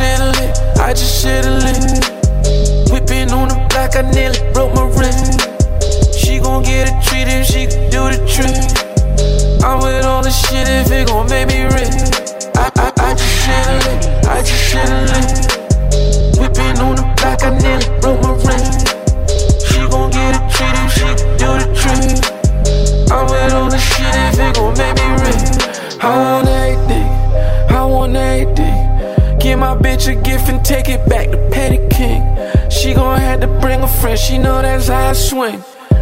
shit a lick, I just shit a lick. Whipping on the block, I nearly broke my wrist. She gon' get a treat if she can do the trick. I'm with all the shit if it gon' make me rich. I just shit a lick, I just shit a lick. Whipping on the block, I nearly broke my wrist. She gon' get a treat if she can do the trick. I'm with all the shit if it gon' make me rich. I want everything, I want everything. Give my bitch a gift and take it back to Petty King. She gon' have to bring a friend, she know that's how I swing.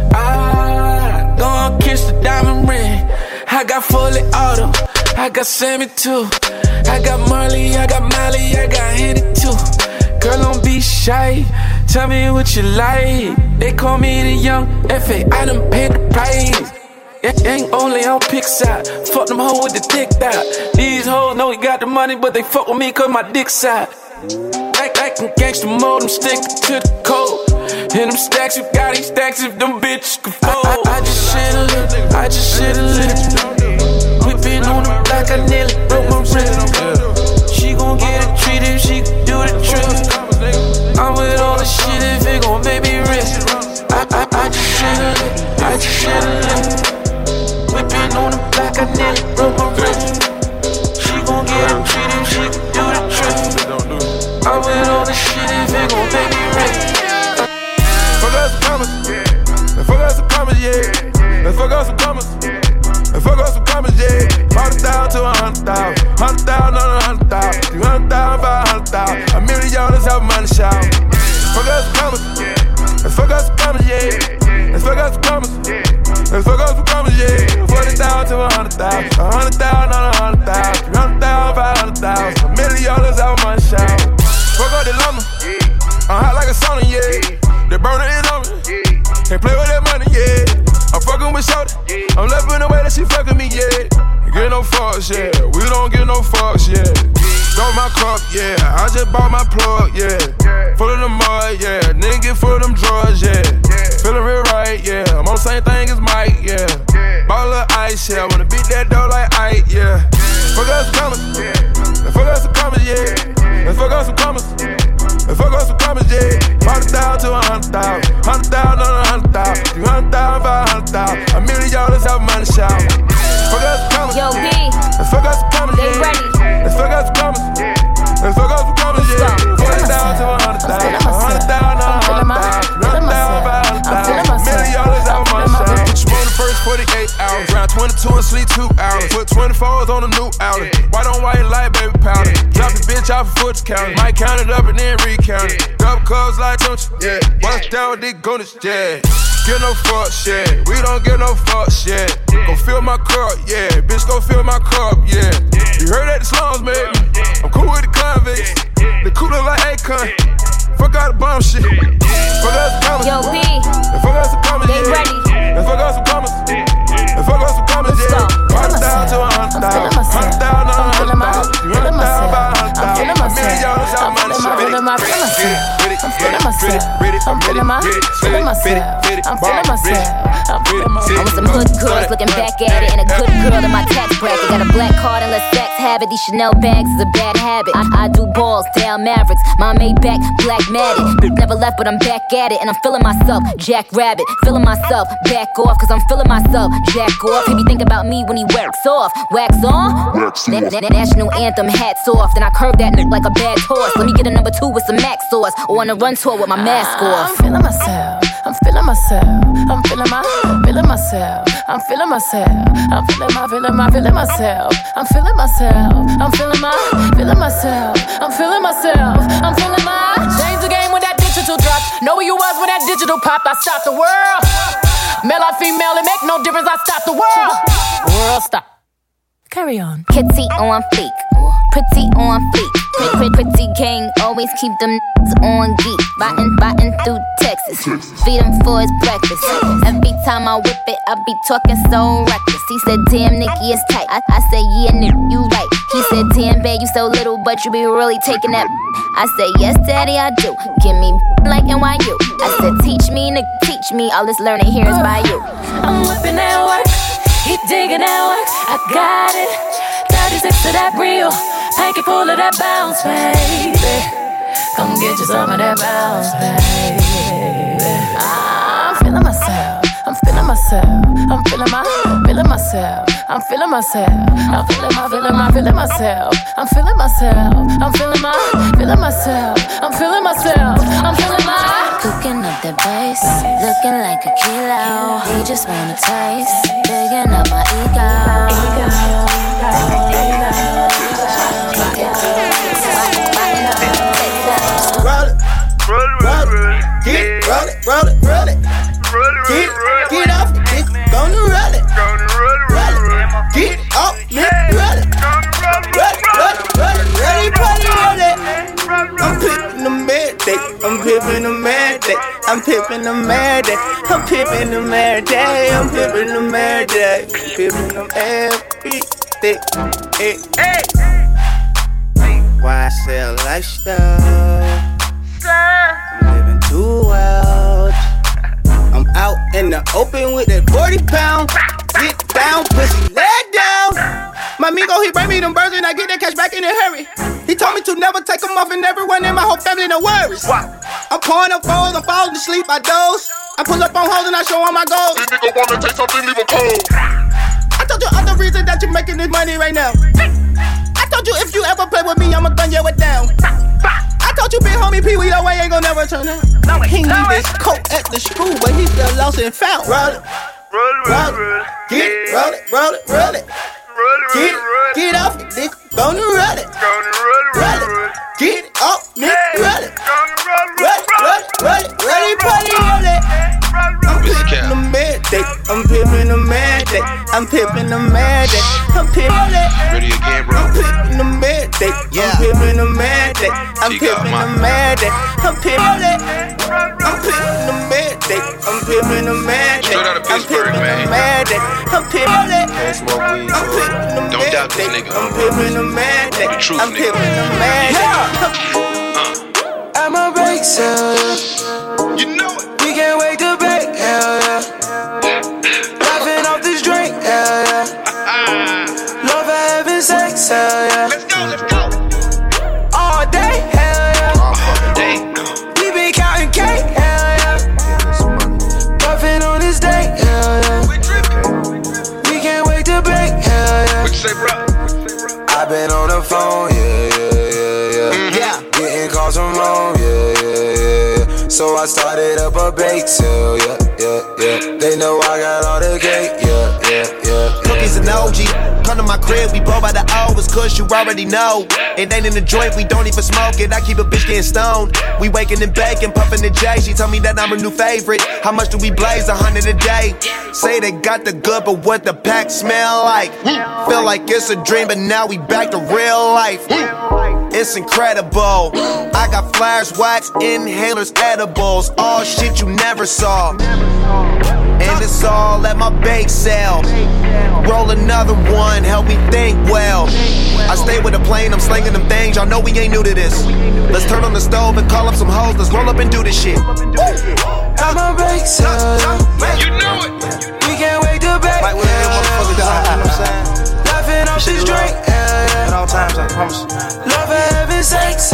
I gon' kiss the diamond ring. I got fully auto, I got Sammy too. I got Marley, I got Molly, I got Henny too. Girl, don't be shy, tell me what you like. They call me the young F.A., I done paid the price. Ain't only on pick side, fuck them hoes with the dick out. These hoes know we got the money, but they fuck with me cause my dick side. Actin' gangsta mode, I'm stickin' to the code. And them stacks, you got these stacks if them bitches can fold. I just shit a lick, I just shit a lick. Whippin' on the block, I nearly broke my wrist. She gon' get a treat if she can do the trick. I'm with all the shit if it gon' make me rich. I just shit a lick, I just shit a lick. Whippin' on the block, I nearly broke my wrist. She gon' get a treat if she can do the trick. I'm with all the shit if it gon' make me rich. Fuck us some commas, and fuck us some commas, yeah. And fuck us some commas, and fuck us some commas, yeah. 40,000 to 100,000, 100,000 on 100,000, 300,000, 500,000. $1 million have money shout. Fuck us some commas, and fuck us some commas, yeah. And fuck us some commas, and fuck us some commas, yeah. 40,000 to 100,000, 100,000 on 100,000, 300,000, 500,000. $1 million have money shout. Fuck up the llama, I'm hot like a sauna, yeah. The burner is on me, can't play with that money, yeah. I'm fucking with Shorty, I'm loving the way that she fucking me, yeah. Get no fucks, yeah, we don't get no fucks, yeah. Throw my cup, yeah, I just bought my plug, yeah. Full of the mud, yeah, nigga get full of them drugs, yeah. Feeling real right, yeah, I'm on the same thing as Mike, yeah. Ball of ice, yeah, wanna beat that dough like Ike, yeah. Fuck us some commas, and fuck us some commas, yeah. And fuck us some commas, and fuck us some commas, yeah. 40,000 to 100,000, 100,000 on 100,000, 300,000, 500,000. $1 million have money shout. Fuck us some commas, Yo, B, and fuck us some commas, they yeah. ready. And fuck us some commas, and fuck us some commas, yeah. 40,000 to 100,000, 100,000 on 100,000, 300,000, 500,000. $1 million have money shout. Put you on the first 48 hours, round 22 and sleep 2 hours. Put 24s on a new outlet. White on white light, baby powder. Drop the bitch off a foot counter. Might count it up and then recount it. Double cubs like Tunch, yeah. Bust down with these goonies, yeah. Get no fuck shit, we don't get no fuck shit. Go fill my cup, yeah. Bitch, go fill my cup, yeah. You heard that the slums, baby. I'm cool with the convicts. They cooler like Akon. Fuck out the bomb shit. Fuck us some commas. Yo, B, And fuck us some commas, they yeah. ready. And fuck us some commas. And fuck us some commas, yeah. 100,000 to 100,000, 100,000 on 100,000, 300,000, 500,000. $1 million out of money shot. I'm feeling myself. I'm feeling myself. I was some hood girls looking back at it, and a good girl in my tax bracket. Got a black card and let sex have it. These Chanel bags is a bad habit. I do balls, down Mavericks. My Maybach, black matted. Never left, but I'm back at it, and I'm feeling myself. Jack Rabbit, feeling myself. Back off, cause I'm feeling myself. Jack off. He be thinking about me when he wax off. Wax on? National anthem, hats off. Then I curve that nigga like a bad horse. Let me get a number 2 with some Max sauce, or on a run tour with my mask off. I'm feeling myself. I'm feeling myself. I'm feeling myself. I'm feeling myself. I'm feeling myself. I'm feeling myself. I'm feeling myself. I'm feeling myself. I'm feeling my. Change the game when that digital drop. Know who you was when that digital popped. I stopped the world. Male or female, it make no difference. I stopped the world. World stop. Carry on. Kitty on fleek, pretty on fleek. Pretty gang, always keep them on geek. Biting through Texas, feed him for his breakfast. Every time I whip it, I be talking so reckless. He said, damn, Nicky, it's tight. I said, yeah, nigga, you right. He said, damn, babe, you so little, but you be really taking that. I said, yes, daddy, I do. Give me like NYU. I said, teach me, nigga, teach me. All this learning here is by you. I'm whipping that work, he digging that work. I got it. 36 to that real, packet full of that bounce, baby. Come get you some of that bounce, baby. I'm feeling myself. I'm feeling myself. I'm feeling myself. I'm feeling myself. I'm feeling myself. I'm feeling myself. I'm feeling myself. I'm feeling myself. I'm feeling my. Cooking up that bass, looking like a kilo. He just wanna taste, digging up my ego. Roll it, roll it. Get off the dick, gonna roll it. Get off, nigga, roll it. Roll it, ready, party, roll it. I'm pippin' the mad day, I'm pippin' the mad day, I'm pippin' the mad day, I'm pippin' the mad day, I'm pippin' the mad day, pippin' them every day. Hey. Why sell lifestyle? I'm living too well. I'm out in the open with that 40-pound. Get down, pussy, lay down. My amigo, he bring me them birds and I get that cash back in a hurry. He told me to never take them off and everyone in my whole family, no worries. I'm pouring up foes, I'm falling asleep, I doze. I pull up on hoes and I show all my goals. This nigga wanna take something, leave him cold. I told you other reason that you making this money right now. I told you if you ever play with me, I'ma gun you it down. I told you big homie Pee Wee, that way ain't gon' never turn out. He need this coat at the screw, but he still lost and found. Roll it. Get off the dick, gonna roll it. Get off, nigga, roll it. Roll it, ready, party, roll it. I'm pippin' the mad day, I'm pippin' the mad day, I'm pippin' the mad day, I'm pippin' it. Ready again, bro? I'm pippin' the mad day, I'm pippin' the mad day, I'm pippin' the mad day, I'm pippin' it. I'm pippin' the mad day, I'm pippin' the mad day, Straight out of I'm Pittsburgh, pippin' man. the mad day, I'm pippin' it. I'm pippin' the Don't mad doubt this day, nigga. I'm pippin' the mad day, The truth, I'm nigga. pippin' the mad day. I'm a break sale, You know it. we can't wait to break, hell yeah. Laughing off this drink, hell yeah. Love for having sex, hell yeah. Let's go. All day, hell yeah. All fucking day. We been counting cake, hell yeah. Puffin' on this day, hell yeah. We trippin'. We can't wait to break, hell yeah. What you say, bro? I been on the phone, yeah. Getting calls from home, yeah. So I started up a bake sale, yeah. They know I got all the cake, yeah. Cookies and OG, come to my crib, we blow by the O, it's cause you already know. It ain't in the joint, we don't even smoke it, I keep a bitch getting stoned. We waking and baking, puffing the J, she told me that I'm a new favorite. How much do we blaze? 100 a day. Say they got the good, but what the pack smell like? Feel like it's a dream, but now we back to real life. It's incredible. I got flares, wax, inhalers, edibles, all shit you never saw. And it's all at my bake sale. Roll another one, help me think well. I stay with a plane, I'm slinging them things. Y'all know we ain't new to this. Let's turn on the stove and call up some hoes. Let's roll up and do this shit. I'm a break sale, You know it. we can't wait to break, Like when every motherfucker die, you know what I'm saying? Laughing off this drink, yeah. At all times, I promise. Love for having sex,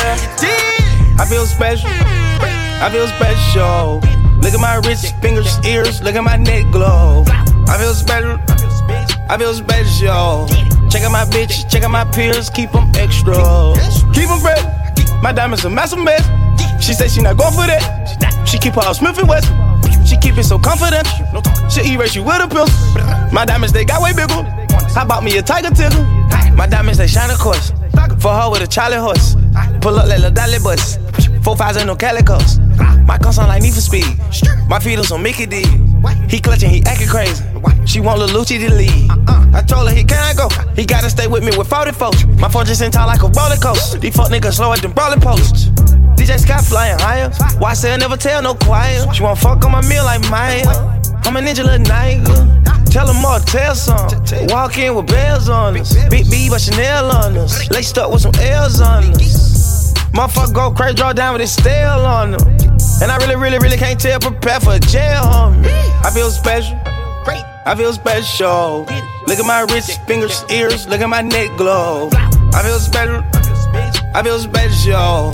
yeah. I feel special. I feel special. Look at my wrist, fingers, ears. Look at my neck glow. I feel special. I feel special. Check out my bitch, check out my peers. Keep them extra. Keep them fresh. My diamonds a massive mess. She say she not going for that. She keep her Smith and Wesson. She keep it so confidential. She erase you with a pistol. My diamonds, they got way bigger. I bought me a tiger tickle. My diamonds, they shine, of course. For her with a Charlie horse. Pull up like a dolly bus. 4 5s and no calicos. My car sound like Need for Speed. My feet on Mickey D. He clutching, he acting crazy. She want Lil Lucci to lead. I told her he can't go. He gotta stay with me with 40 folks. My phone just in town like a roller coaster. These fuck niggas slow at them brawling posts. DJ Scott flying higher. Why say I never tell no quiet? She want fuck on my meal like Maya. I'm a ninja little nigga. Tell them more, tell some. Walk in with bells on us. Big B but Chanel on us. Laced up with some L's on us. Motherfucker go crazy, draw down with his stale on them. And I really can't tell, prepare for jail, homie. I feel special. I feel special. Look at my wrist, fingers, ears. Look at my neck glow. I feel special. I feel special.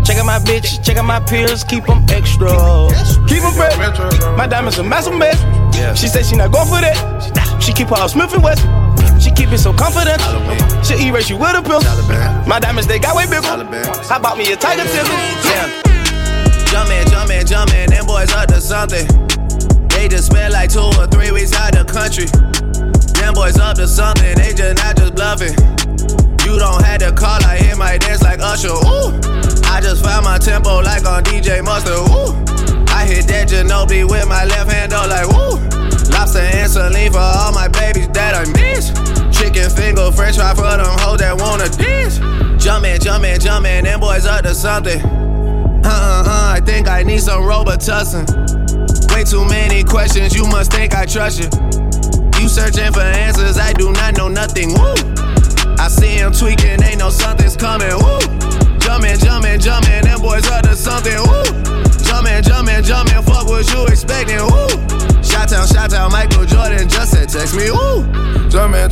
Check out my bitch, check out my peers, keep them extra. Keep them fresh. My diamonds a massive mess. She said she not going for that. She keep her Smith & Wesson. She keep it so confident. She erase you with a pill. My diamonds, they got way bigger. I bought me a tiger ticket. Yeah. Jumpin', them boys up to something. They just spent like 2 or 3 weeks out the country. Them boys up to something, they just not just bluffing. You don't have to call, I hit my dance like Usher. Ooh, I just found my tempo like on DJ Mustard. Ooh, I hit that Ginobili with my left hand, though, like woo. Lobster and saline for all my babies that I miss. Chicken finger, french fry for them hoes that wanna dance. Jumpin', them boys up to something. I think I need some Robitussin. Way too many questions, you must think I trust you. You searching for answers, I do not know nothing, woo. I see him tweaking, ain't no something's coming, woo. Jumpin', them boys up to something, woo. Jumpin', fuck what you expecting, woo. Shout out, Michael Jordan just said text me, woo. Jumpin'.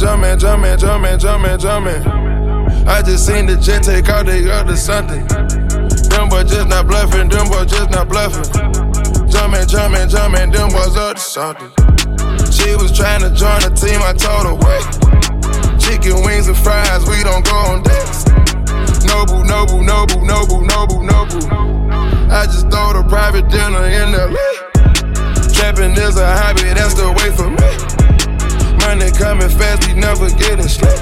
I just seen the jet take out, they up to something. Them boys just not bluffing, Jumpin', them boys up to something. She was trying to join the team, I told her wait. Chicken wings and fries, we don't go on dates. Noble. I just throw a private dinner in LA. Trapping is a hobby, that's the way for me. Money coming fast, we never getting straight.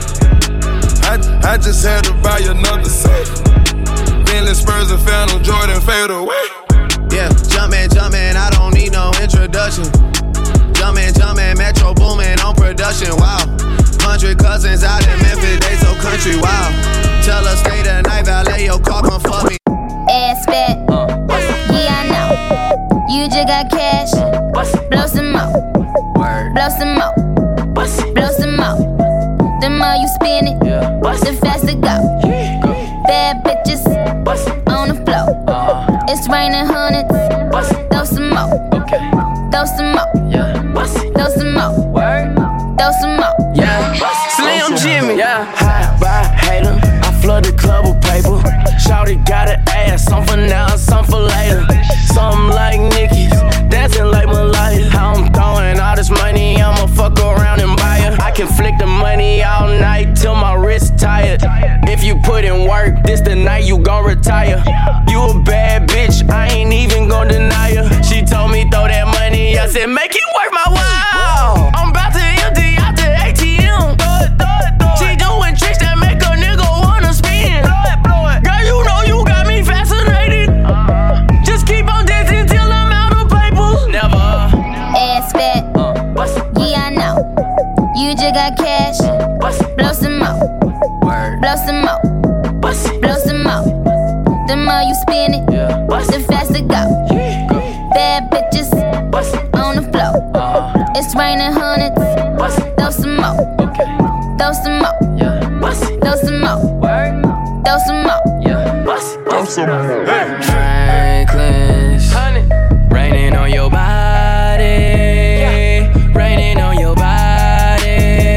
I just had to buy another safe. Bentley Spurs and Phantom Jordan fade away. Yeah, jumpin', I don't need no introduction. Jumpin', Metro boomin' on production, wow. 100 cousins out in Memphis, they so country, wow. Tell her stay the night, valet your car, come fuck me. Ass fat, yeah I know. You just got cash, blow some more. Blow some more, blow some more. The more you spin it, the faster go. Bad bitches on the floor. It's raining hundreds, throw some more. Throw some more, throw some more. Throw some more. Yeah, Slim Jimmy, yeah. High by hater, I flood the club with paper. Shawty got an ass, some for now, some for later. Something like Nicki's, dancing like Malaya. How I'm throwing all this money, I'ma fuck around and buy her. I can flick the money all night till my wrist tired. If you put in work, this the night you gon' retire. You a bad bitch, I ain't even gon' deny her. She told me throw that money, I said make it worth my while. I'm about to empty out the ATM. She doing tricks that make a nigga wanna spin. Girl, you know you got me fascinated. Just keep on dancing till I'm out of paper. Never. Ass fat, yeah I know. You just got cash, blow some more. Blow some more, blow some more. The more you spin it, the faster go. Bad bitches on the floor. It's raining hundreds, throw some more. Throw some more, throw some more. Throw some more. Throw some more. Franklin's raining on your body, raining on your body,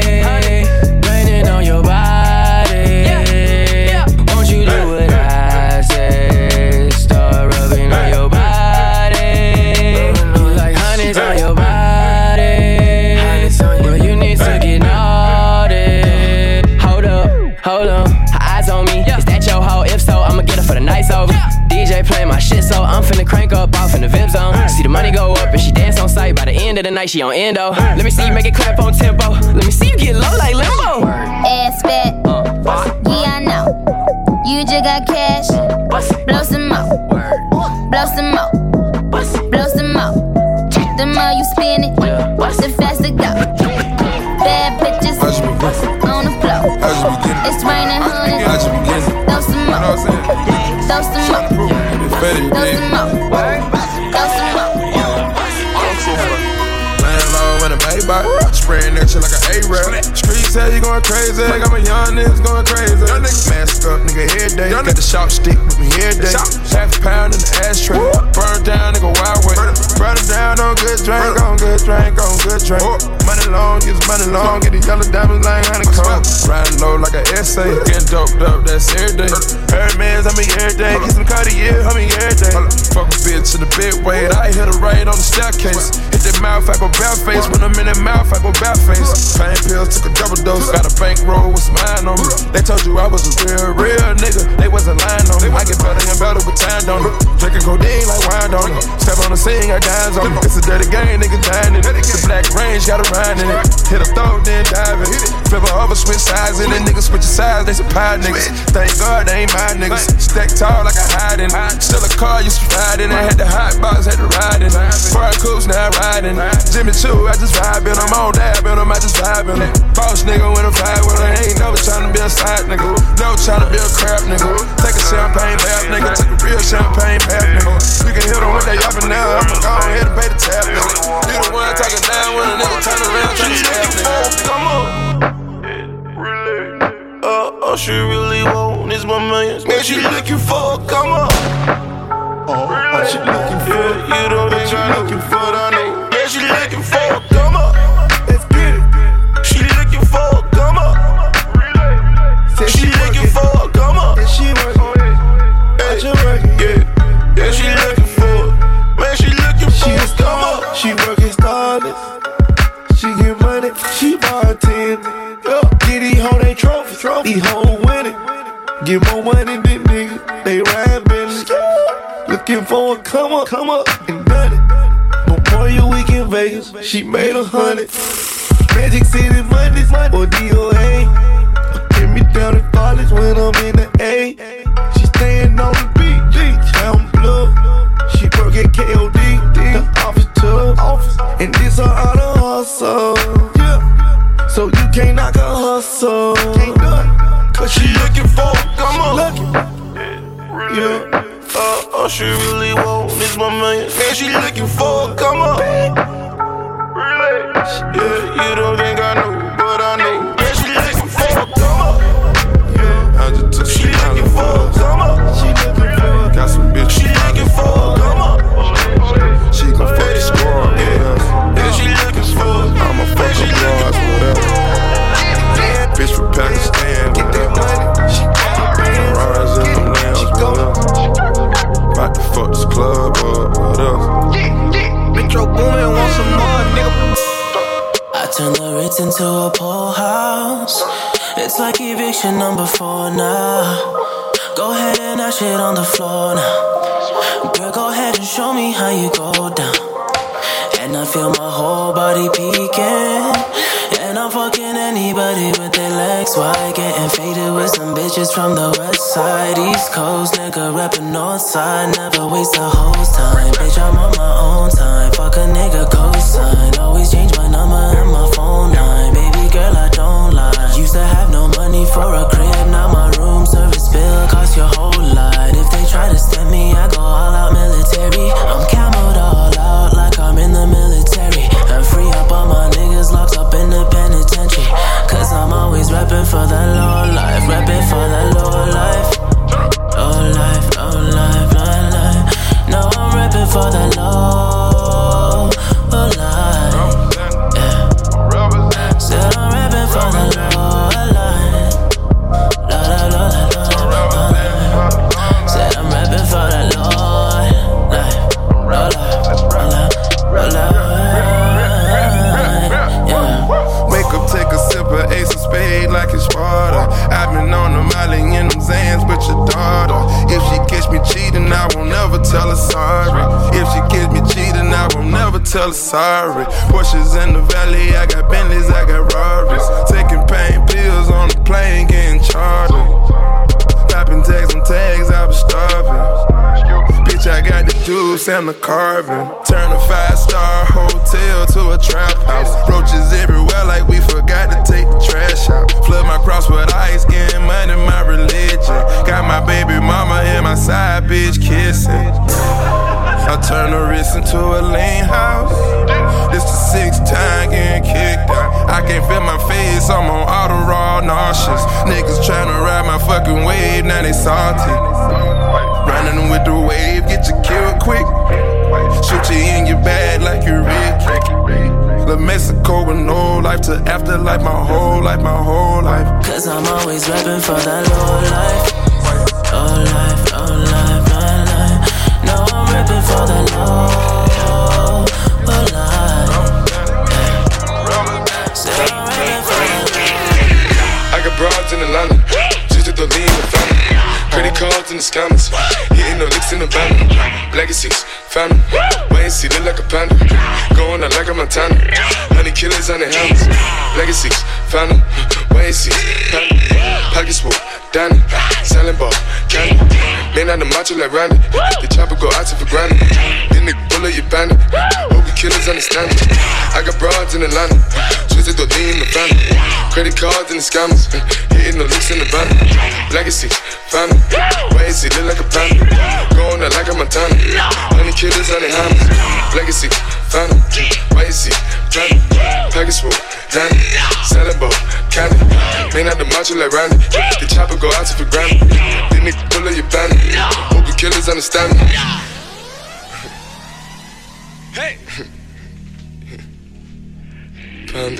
raining on your body. Won't you do what I say? Start rubbing on your body, like honey's on your body. Well, you need to get naughty. Hold up, eyes on me. Is that your hoe? If so, I'ma get her for the night's over. DJ playing my shit, so I'm finna crank up off in the VIP zone. See the money go up and she dance on sight. By the end of the night, she on endo. Let me see you make it clap on tempo. Let me see you get low like limbo. Ass fat, yeah I know. You just got cash, blow some more. Blow some more, blow some more. The more you spin it, the faster go. Bad bitches on the floor. It's raining hundreds, throw some more. Throw some more, throw some more. Throw some more. In a Maybach, spraying that shit like an A-rap. Streets say you going crazy, got my young niggas going crazy. Young niggas mask up, nigga, every day. Got the short stick with me every day. Half a pound in the ashtray. Burn down, nigga, wild way. Burn it down on good drink, on good drink, on good drink. Money long, get money long, get the yellow diamonds like honeycomb. Riding low like an essay, getting doped up, that's every day. Hermes, I mean every day. Get some car of the year, homie, every day. Fuck a bitch in the big way. I hit her right on the staircase. Hit that mouth, I go bare-face. When I'm in that mouth, I go bare-face. Pain pills, took a double dose. Got a bankroll with some iron on me. They told you I was a real nigga. They wasn't lying on me. I get better and better with time, don't it? Drinking codeine like wine, don't it? Step on the scene, got dimes on me. It's a dirty game, nigga dying in it. The black range, got a ride in it. Hit a throw, then dive in it. Flip her over, switch sides in it. Niggas switch sides, they some pie niggas. Thank God they ain't my niggas. Stack tall like I hide in it. Still a car, used to ride in it. Had the hot box, had to ride in it. Foreign coops, now I ride in it. Jimmy Choo, I just vibe in them. On dab in them, I just vibe in them. Boss nigga when I vibe with her. Ain't never tryna be a side nigga. Never tryna be a crap nigga. Take a champagne bath nigga. Take a real champagne bath nigga. You can hit them with they up and down. I'ma go ahead and pay the tab nigga. You the one talking down when a nigga turn around tryna stab nigga. Come on. All she really want is my millions. Man, she looking for, come on. All she looking for, you don't think she looking for that nigga. Man, she looking for, come on. Let's get it. She looking for, come on. She looking for, come on. And she working, yeah, she looking for. Man, she looking for, come on. She working starless. She get money, she bartending. Get these hoes they trophy. These hoes winning. Get more money than niggas. They ride Bentley. Looking for a come up and done it. Memorial Week in Vegas, she made 100. Magic City Mondays or DOA. Get me down in college when I'm in the A. She staying on the beach, I'm blue. She work at KOD, the office too. And this her auto hustle. Yeah. So you can't knock her hustle. Can't do it. Cause she looking for, come on. Yeah. All she really want is my millions. Man, she looking for, come on. Yeah, you don't think I know, but I know. Man, she looking for, come on. Yeah, I just took she looking for, come on. She looking for, got some bitch. She looking for, come on. She gon' fuck the squad, yeah. She looking for, I'm a fucking broad, whatever. Bitch from Pakistan, get that money. She rise in them lounge, whatever. About to fuck this club up, what else? Metro Boomin, want some more, nigga. I turn the Ritz into a pool house. It's like eviction number 4 now. Go ahead and dash it on the floor now. Girl, go ahead and show me how you go down. And I feel my whole body peeking. And I'm fucking anybody with their legs wide. Getting faded with some bitches from the west side. East Coast, nigga reppin' north side. Never waste a hoe's time. Bitch, I'm on my own time. Fuck a nigga cosign. Always change my number and my phone line. Baby girl, I don't lie. Used to have no money for a crib. Now my room service bill cost your whole lot. If they try to stem me, I go all out military. I'm camoed all out like I'm in the military. And free up all my niggas locked up in the penitentiary. Cause I'm always reppin' for the low life. Reppin' for the low life. Low life, low life, low life. No, I'm reppin' for the low life. Yeah. Said I'm reppin' for the low life. Low life. Said I'm reppin' for the low life. Low life, low life. Yeah. Wake up, take a sip of Ace of Spade like it's water. I've been on the Molly in them Zans with your daughter. If she catch me cheating, I won't never tell her sorry. If she catch me cheating, I won't never tell her sorry. Porsches in the valley, I got Bentleys, I got Rarries. Taking pain pills on the plane, getting charged. Popping tags on tags, I was starving. Bitch, I got the juice and the carving. Turn a 5-star hotel to a trap house. Roaches everywhere like we forgot to take the trash out. Flood my cross with ice, getting money, my religion. Got my baby mama and my side bitch kissing. I turn the wrist into a lean house. This the 6th time getting kicked out. I can't feel my face, I'm on auto raw nauseous. Niggas tryna ride my fucking wave, now they salty. Running with the wave, get you killed quick. Shoot you in your bag like you're Rick. La Mexico with no life to afterlife, my whole life, my whole life. Cause I'm always reppin' for that low life. Low life, low life, low life. Hitting no licks in the band. Legacies, family. Wait and see, look like a panda. Going out like a Montana. 100 killers on their helmets. Legacies, family. Wait and see, family. Pockets full, Danny. Selling ball, candy. Man out the macho like Randy. The chopper go out to for granted. Then they pull up your bandit. Hope the killers understand it. I got broads in Atlanta. Twisted the lean in the family. Credit cards and the scammers. Hitting the licks in the band. Legacy, family. Wait and see, look like a panda. Going out like a Montana. 100 killers on their hammers. Legacy, family. Wait and see, family. Package full, Danny. Selling ball, candy. Man out the macho like Randy. The chopper go out to for granted. Then they pull up your bandit. Hope the killers understand me. Hey! Panda.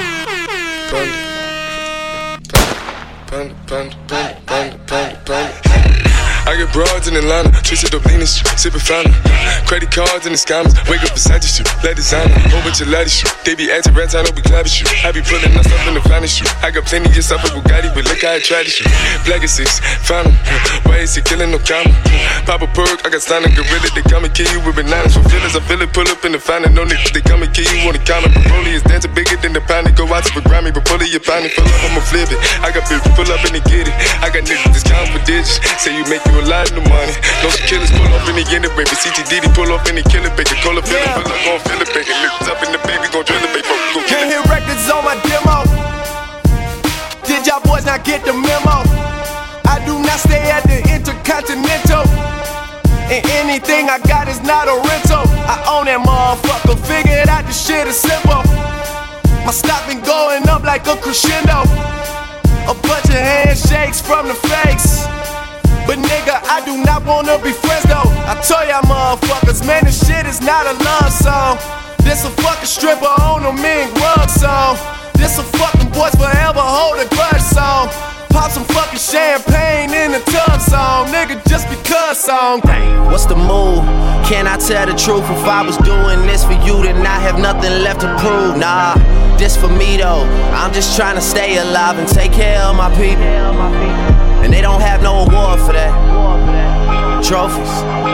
I get broads in Atlanta, twisted up lean shit, sippin' fountain. Credit cards and the scammers, wake up beside you, let designer, whole bunch of laddy shit. They be acting rats, I don't be clapping shit. I be pulling my stuff in the finest shit. I got plenty of stuff with Bugatti, but look how I tried this shit. Black is 6, fountain, why is he killing no comma? Pop a perk, I got signed a gorilla, they come and kill you with bananas. For feelings, I feel it, pull up in the fountain, no niggas, they come and kill you on the counter. Broly is dancing bigger than the pound, go out to for Grammy, but pull it, your pound, pull up, I'ma flip it. I got bitches, pull up and they get it. I got niggas, discount for digits, say you make you a lot of money. No killers pull off in the end, baby. CTDD pull off in the killer, baby. Call a feeling, pull up, gon' feel it, baby. Niggas up in the baby, gon' drill it, baby. Go Can't hear records on my demo. Did y'all boys not get the memo? I do not stay at the Intercontinental. And anything I got is not a rental. I own that motherfucker, figured out the shit is simple. My stock been going up like a crescendo. A bunch of handshakes from the fakes. But nigga, I do not wanna be friends though. I told y'all motherfuckers, man, this shit is not a love song. This a fucking stripper on a mink rug song. This a fucking boys forever hold a grudge song. Pop some fucking champagne in the tub song. Nigga, just because song. What's the move? Can I tell the truth? If I was doing this for you, then I have nothing left to prove. Nah, this for me though. I'm just trying to stay alive and take care of my people. And they don't have no award for that. Trophies.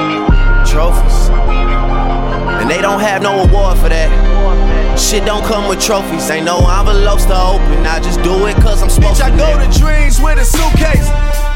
And they don't have no award for that. Shit don't come with trophies. Ain't no envelopes to open. I just do it cause I'm supposed to. Bitch, I go to dreams with a suitcase.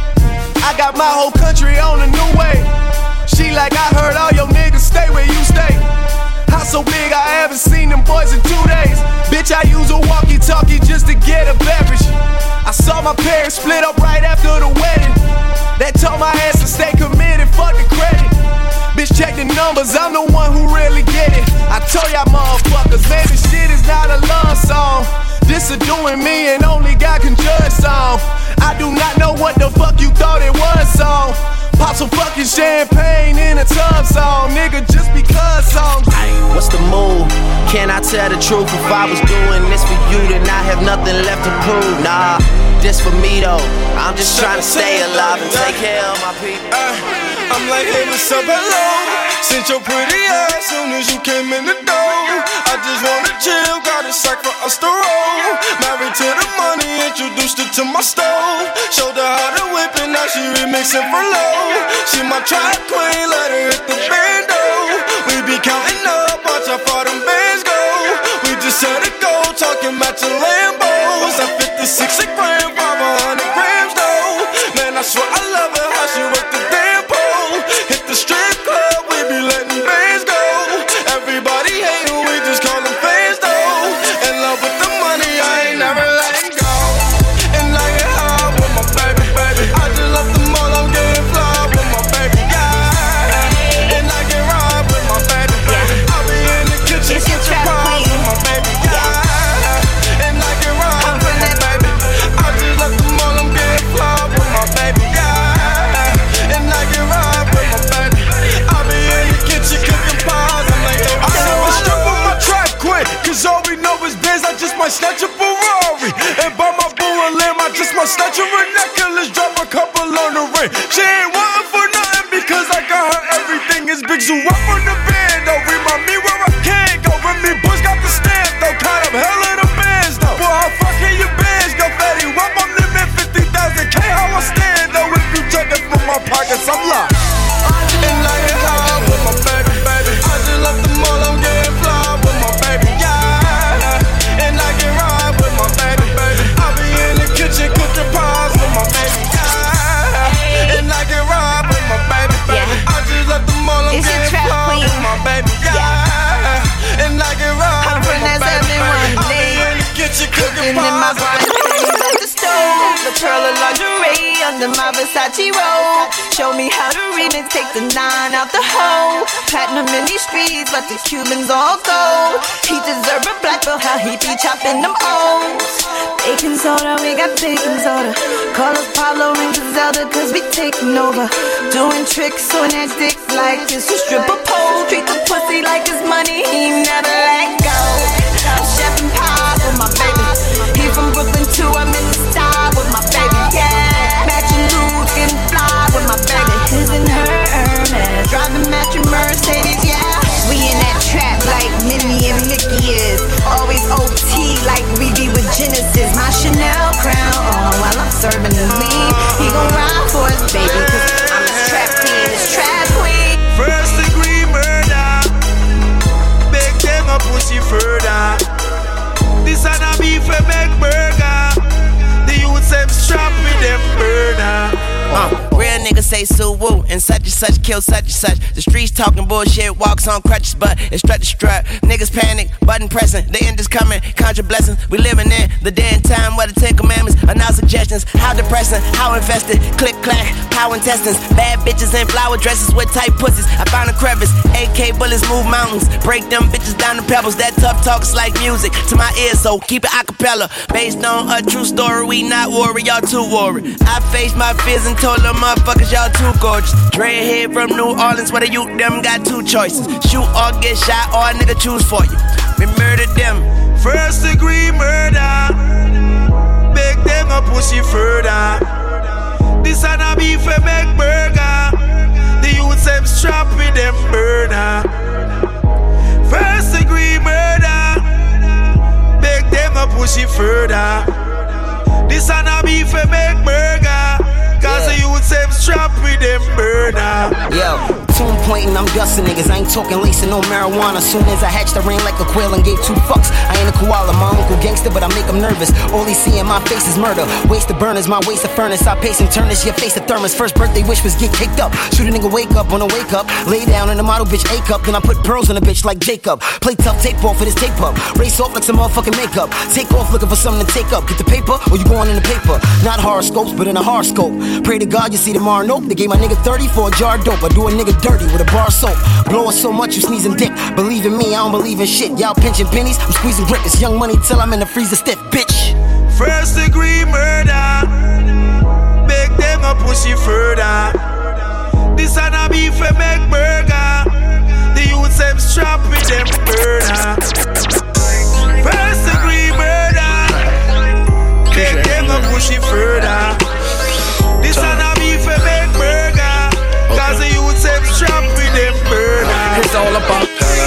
I got my whole country on a new way. She like, I heard all your niggas stay where you stay. House so big I haven't seen them boys in 2 days. Bitch, I use a walkie-talkie just to get a beverage. I saw my parents split up right after the wedding. That told my ass to stay committed, fuck the credit. Bitch, check the numbers, I'm the one who really get it. I told y'all motherfuckers, man, this shit is not a love song. This a doing me and only God can judge song. I do not know what the fuck you thought it was song. Pop some fucking champagne in a tub song. Nigga, just because song. What's the move? Can I tell the truth? If I was doing this for you, then I have nothing left to prove. Nah, this for me though. I'm just trying to stay alive and take care of my people. I'm like, hey, what's up, hello? Since your pretty ass soon as you came in the door. I just wanna chill, got a sack for us to roll. Married to the money, introduced her to my stove. Showed her how to whip it, now she remixing for low. She my track queen, let her hit the bando. We be counting up, watch how far them bands go. We just set a goal, talking about your Lambos. At 56 a gram, 500 grams though. Man, I swear I love her, how she work the damn pole. Hit the strip club, we be letting bands go. Everybody hating, we just call them fans though. In love with the money, I ain't never letting go. And I get high with my baby, baby. I just love the mall, I'm getting fly with my baby, yeah. And I get ride with my baby, baby. I be in the kitchen, pies with my baby, yeah. And I get ride with my baby. I just love the mall, I'm getting fly with my baby, yeah. And I get ride with my baby. I be in the kitchen cooking pies, I'm like, hey, I never strip on my track quick, cause all we know is biz, I just might snatch a Ferrari. And buy my boo a limb, I just might snatch her a necklace, drop a couple on the ring. She ain't wantin' for nothing because I got her everything is big. So up on the band, though, remind me where I can't go. When me boys got the stamp, though, kind of hell of the bands, though. Boy, how fucking your bands go, fatty? Up on them at 50,000K, how I stand, though. If you check it from my pockets, I'm locked. under my Versace robe. Show me how to remix, take the 9 out the hole. Platinum in these streets, but the Cubans all gold. He deserve a black belt, how he be chopping them O's. Baking soda, we got baking soda. Call us Pablo and Griselda, cause we taking over. Doing tricks on that dick like it's a stripper pole. Treat the pussy like it's money, he never let go. I'm chef and pie with my baby. He from Brooklyn too, I'm in the style with my baby. Yeah, matching dudes, getting fly with my baby. His and her Hermes, driving matching Mercedes. Yeah, we in that trap like Minnie and Mickey is. Always OT like we be with Genesis. My Chanel crown on while I'm serving the lean. He gon' ride for his baby, cause I'm his trap queen, his trap queen. First degree murder, beg them a pussy further. This and a beef a make burger. The youths them strap with them burner. Real niggas say so woo and such kill such and such. The streets talking bullshit, walks on crutches, but it's strut to strut. Niggas panic, button pressing, the end is coming, conjure blessings. We living in the day and time where the 10 commandments are now suggestions. How depressing, how infested, click clack, how intestines. Bad bitches in flower dresses with tight pussies. I found a crevice, AK bullets move mountains, break them bitches down to pebbles. That tough talk's like music to my ears, so keep it acapella. Based on a true story, we not worried, y'all too worried. I faced my fears and told them motherfuckers y'all too gorgeous. Dreadhead from New Orleans where the youth them got 2 choices. Shoot or get shot or a nigga choose for you. We murdered them. First degree murder, beg them a pussy further. This and a beef a make burger. The youths them strap with them burner. First degree murder, beg them a pussy further. This and a beef a make burger. Cause the youths them strap with them burner. Yo, tune pointing, I'm dusting niggas. I ain't talking lacing no marijuana. Soon as I hatched, I ran like a quail and gave 2 fucks. I ain't a koala, my uncle gangster, but I make him nervous. All he see in my face is murder. Waste of burners, my waist of furnace. I pace and turn this, your face a thermos. First birthday wish was get caked up. Shoot a nigga wake up on a wake up. Lay down in the model bitch A cup. Then I put pearls on a bitch like Jacob. Play tough, tape off for this tape up. Race off like some motherfucking makeup. Take off looking for something to take up. Get the paper or you going in the paper. Not horoscopes, but in a horoscope. Pray to God you see tomorrow. Nope, they gave my nigga 30 for a jar of dope. I do a nigga dirty with a bar of soap. Blowing so much you sneezing dick. Believe in me, I don't believe in shit. Y'all pinching pennies, I'm squeezing grip. It's young money till I'm in the freezer stiff, bitch. First degree murder, beg them a pussy further. This and a beef a make burger. The youths them strap with them burner. First degree murder, beg them a pussy further. This and a beef a make burger. Cause the youths them strap with them burner. It's all about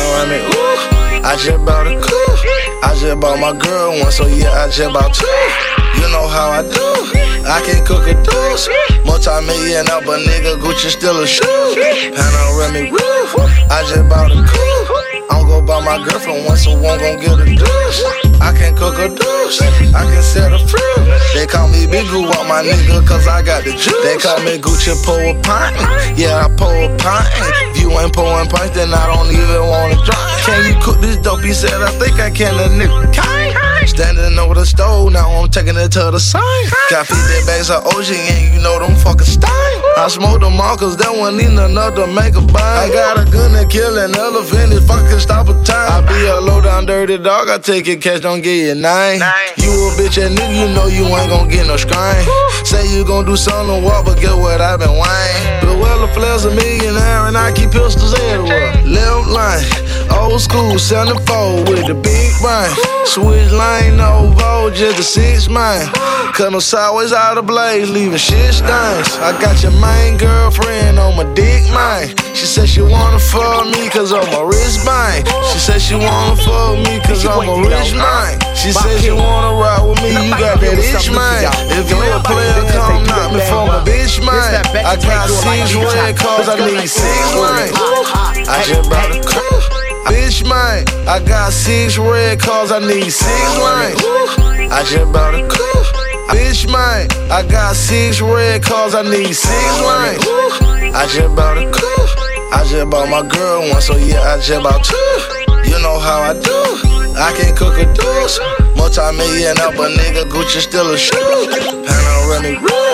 I just bought a coupe. I just bought my girl one, so yeah, I just bought 2. You know how I do. I can cook a deuce. Multi-million up, but nigga Gucci still a shoe. Panoramic roof. I just bought a coupe. I'm gon' buy my girlfriend one, so one gon' get a deuce. I can cook a deuce. I can set a fruit. They call me Big Goo out my nigga, cause I got the juice. They call me Gucci pour a pint. Yeah, I pour a pint. If you ain't pouring pints, then I don't even wanna drink. Can you cook this dope? He said, I think I can, a nigga. Standing over the stove, now I'm taking it to the sign. Got 50 bags of OG and you know them fucking style. I smoke them all cause they won't need enough to make a bang. I got a gun to kill an elephant, it fucking stop a time. I be a low down dirty dog, I take it cash, don't get your name. You a bitch and nigga, you know you ain't gon' get no screen. Say you gon' do something walk, but get what I been whining. But well, the flare's a millionaire and I keep pistols everywhere. Left line, old school, 74 with the big brain. Switch lane, no vote, just a 6 man. Cut no sideways out of blaze, leaving shit stains. I got your main girlfriend on my dick, man. She said she wanna fuck me cause I'm a rich man. She said she wanna fuck me cause I'm a rich man. She said she wanna ride with me, you got that itch, man. If you a player, come knock me for my bitch, man. I got 6 red cars, I need 6 lanes. I just bought a car. Bitch, man, I got 6 red cars, I need 6 lanes. I just bought a car. Bitch, man, I got 6 red cars, I need 6 lanes. I just bought a car. I just bought my girl one, so yeah, I just bought 2. You know how I do. I can cook a deuce. Multi-million up, but nigga Gucci still a shoe. Panoramic roof.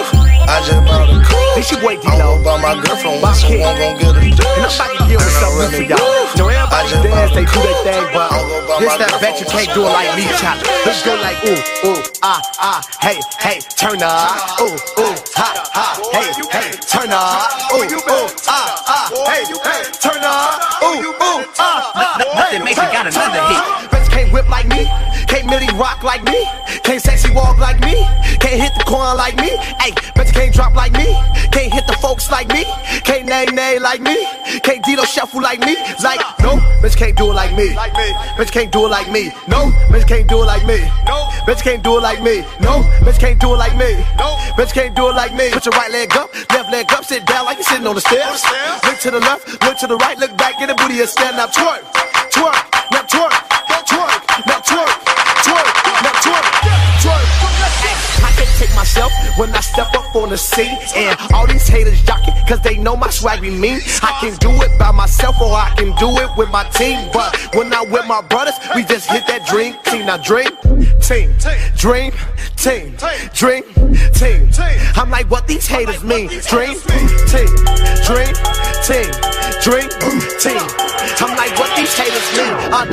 I just bought a coupe. This your boy I'm gon' buy my girlfriend one, so I'm gon' get a dish. And I'm about to give her something new for y'all. You know, everybody dance, they do their thing, but this that bet you can't do it like me, chop. Let's go like ooh, ooh, hey, hey, turn up. Ooh, ooh, hey, hey, turn up. Ooh, ooh, hey, hey, turn up. Ooh, ooh, Nothing makes it got another hit. Bet you can't whip like me, can't Millie rock like me, can't sexy walk like me, can't hit the corn like me. Ay, bet you can't drop like me, can't hit the folks like me, can't nay like me, can't Dito shuffle like me. Like no, bitch can't do it like me. Bitch can't do it like me. No, bitch can't do it like me. No, bitch can't do it like me. No, bitch can't do it like me. No, bitch can't do it like me. Put your right leg up, left leg up, sit down like you're sitting on the stairs. Look to the left, look to the right, look back, get the booty and stand up. Twerk, twerk, now twerk, twerk, now twerk, twerk, now twerk, twerk. I can't take myself when I step up on the scene, and all these haters jocking cause they know my swag be mean. I can do it by myself or I can do it with my team, but when I'm with my brothers, we just hit that dream team. Now dream team, dream team, dream team. I'm like, what these haters mean? Dream team, dream team, dream team. I'm like, what these haters mean?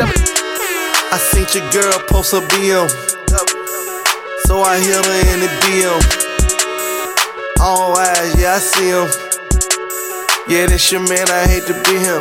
I seen your girl post a BM, so I hit her in the DM. All eyes, yeah, I see him. Yeah, this your man, I hate to be him.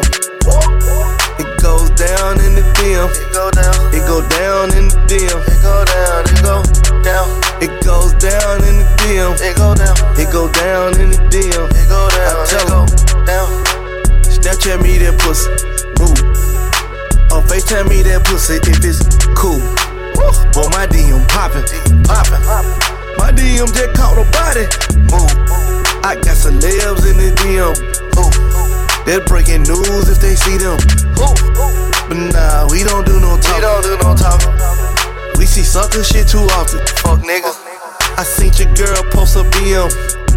It goes down in the DM. It go down. It go down in the DM. It go down. It go down. It goes down in the DM. It go down. It go down in the DM. It go down. I tell him down. Snapchat me that pussy. Move. Or FaceTime me that pussy if it's cool. Boy, my DM poppin', poppin'. My DM just caught a body. Move. I got celebs in the DM. They're breaking news if they see them. But nah, we don't do no talking. We see sucker shit too often. Fuck nigga. I seen your girl post a BM,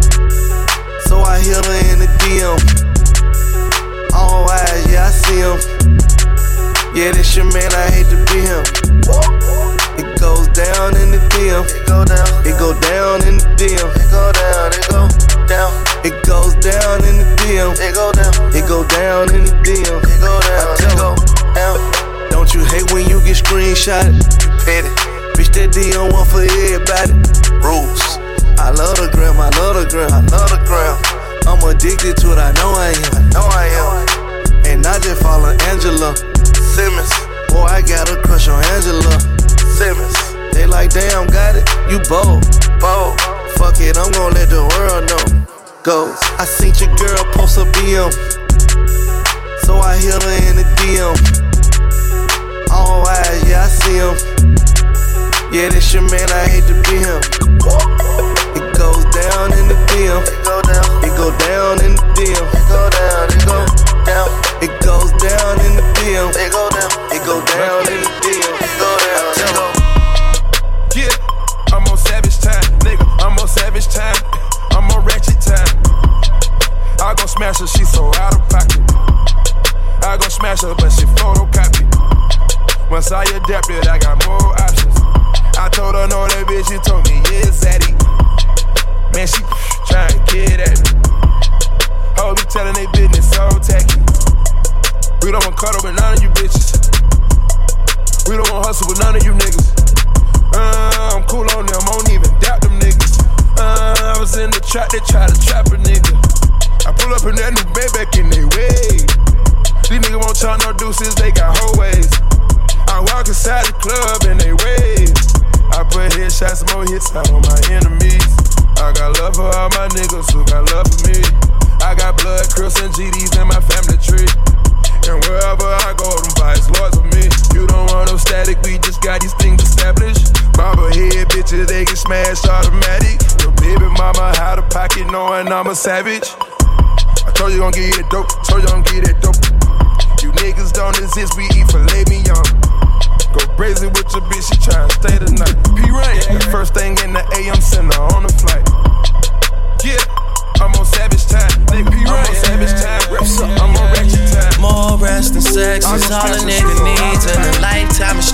so I hit her in the DM. All eyes, yeah, I see him. Yeah, this your man, I hate to be him. It goes down in the DM. It go down. It go down in the DM. It go down. It go down. It goes down in the DM. It go down. It go down in the DM. It go down. I tell down. Don't you hate when you get screenshotted? You petty. Bitch, that DM one for everybody. Rules. I love the gram. I love the gram. I love the gram. I'm addicted to it. I know I am. I know I am. And I just follow Angela Simmons. Boy, I got a crush on Angela Simmons. They like, damn, got it. You bold. Bold. Fuck it, I'm gon' let the world know. Goes. I seen your girl post a BM, so I hit her in the DM. All eyes, yeah, I see him. Yeah, this your man, I hate to be him. It goes down in the DM. It go down. It go down in the DM. It go down. It go down. It goes down in the DM. It go down. It go down in the DM. It go down. Yeah, I'm on savage time, nigga. I'm on savage time. I'm on ratchet time. I gon' smash her, she so out of pocket. I gon' smash her, but she photocopy. Once I adapted, I got more options. I told her no, that bitch, she told me, yeah, Zaddy. Man, she tryna get at me. Hoes be telling they business so tacky. We don't want cuddle with none of you bitches. We don't want hustle with none of you niggas. I'm cool on them, I don't even doubt them niggas. I was in the trap, they try to trap a nigga. I pull up in that new bed back in they way. These niggas won't chop no deuces, they got whole ways. I walk inside the club and they wave. I put headshots, more hits out on my enemies. I got love for all my niggas who got love for me. I got blood, Crips, and GDs in my family tree. And wherever I go, them vibes lords of me. You don't want no static, we just got these things established. Mama head bitches, they get smashed automatic. Your baby mama out of pocket knowing I'm a savage. I told you gon' get it dope, told you gon' get it dope. You niggas don't exist, we eat filet mignon. Go crazy with your bitch, she tryna stay the night. P-Rain, the first thing in the AM, send her on the flight. Yeah, I'm on savage time. They P-Rain, I'm on savage time. I'm on ratchet time. More rest and sex is all a nigga needs in a lifetime of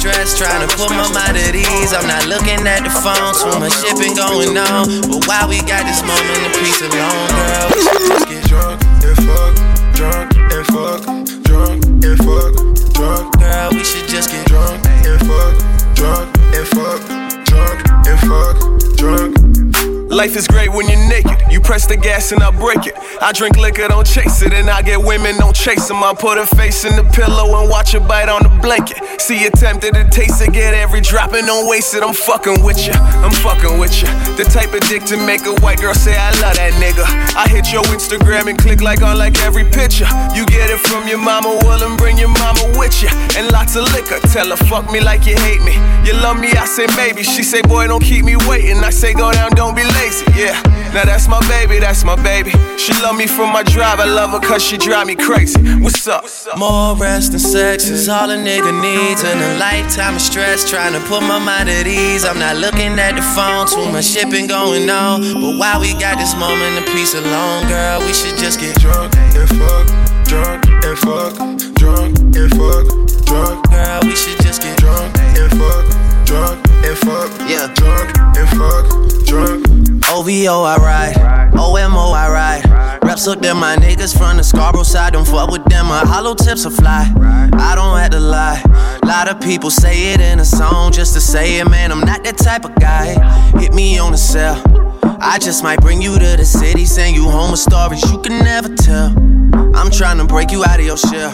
stress, trying to put my mind at ease. I'm not looking at the phone, too much shit been going on. But while we got this moment of peace alone, girl, we should just get drunk and fuck, drunk and fuck, drunk and fuck, drunk. Girl, we should just get drunk and fuck, drunk and fuck, drunk and fuck, drunk. Life is great when you're naked. You press the gas and I break it. I drink liquor, don't chase it. And I get women, don't chase them. I put her face in the pillow and watch her bite on the blanket. See you tempted to taste it, get every drop and don't waste it. I'm fucking with you, I'm fucking with you. The type of dick to make a white girl say I love that nigga. I hit your Instagram and click like on like every picture. You get it from your mama, well and bring your mama with you. And lots of liquor, tell her fuck me like you hate me. You love me, I say maybe. She say boy don't keep me waiting. I say go down, don't be late. Yeah, now that's my baby, that's my baby. She love me for my drive, I love her cause she drive me crazy. What's up? More rest and sex is all a nigga needs. And a lifetime of stress, trying to put my mind at ease. I'm not looking at the phone, too much shit been going on. But while we got this moment of peace alone, girl, we should just get drunk and fuck, drunk and fuck, drunk and fuck, drunk. Girl, we should just get drunk and fuck, drunk and fuck, yeah, drunk and fuck, drunk. OVO I ride, OMO I ride. Reps up them my niggas from the Scarborough side. Don't fuck with them, my hollow tips will fly. I don't have to lie. Lot of people say it in a song just to say it, man. I'm not that type of guy. Hit me on the cell. I just might bring you to the city, send you home with stories you can never tell. I'm trying to break you out of your shell.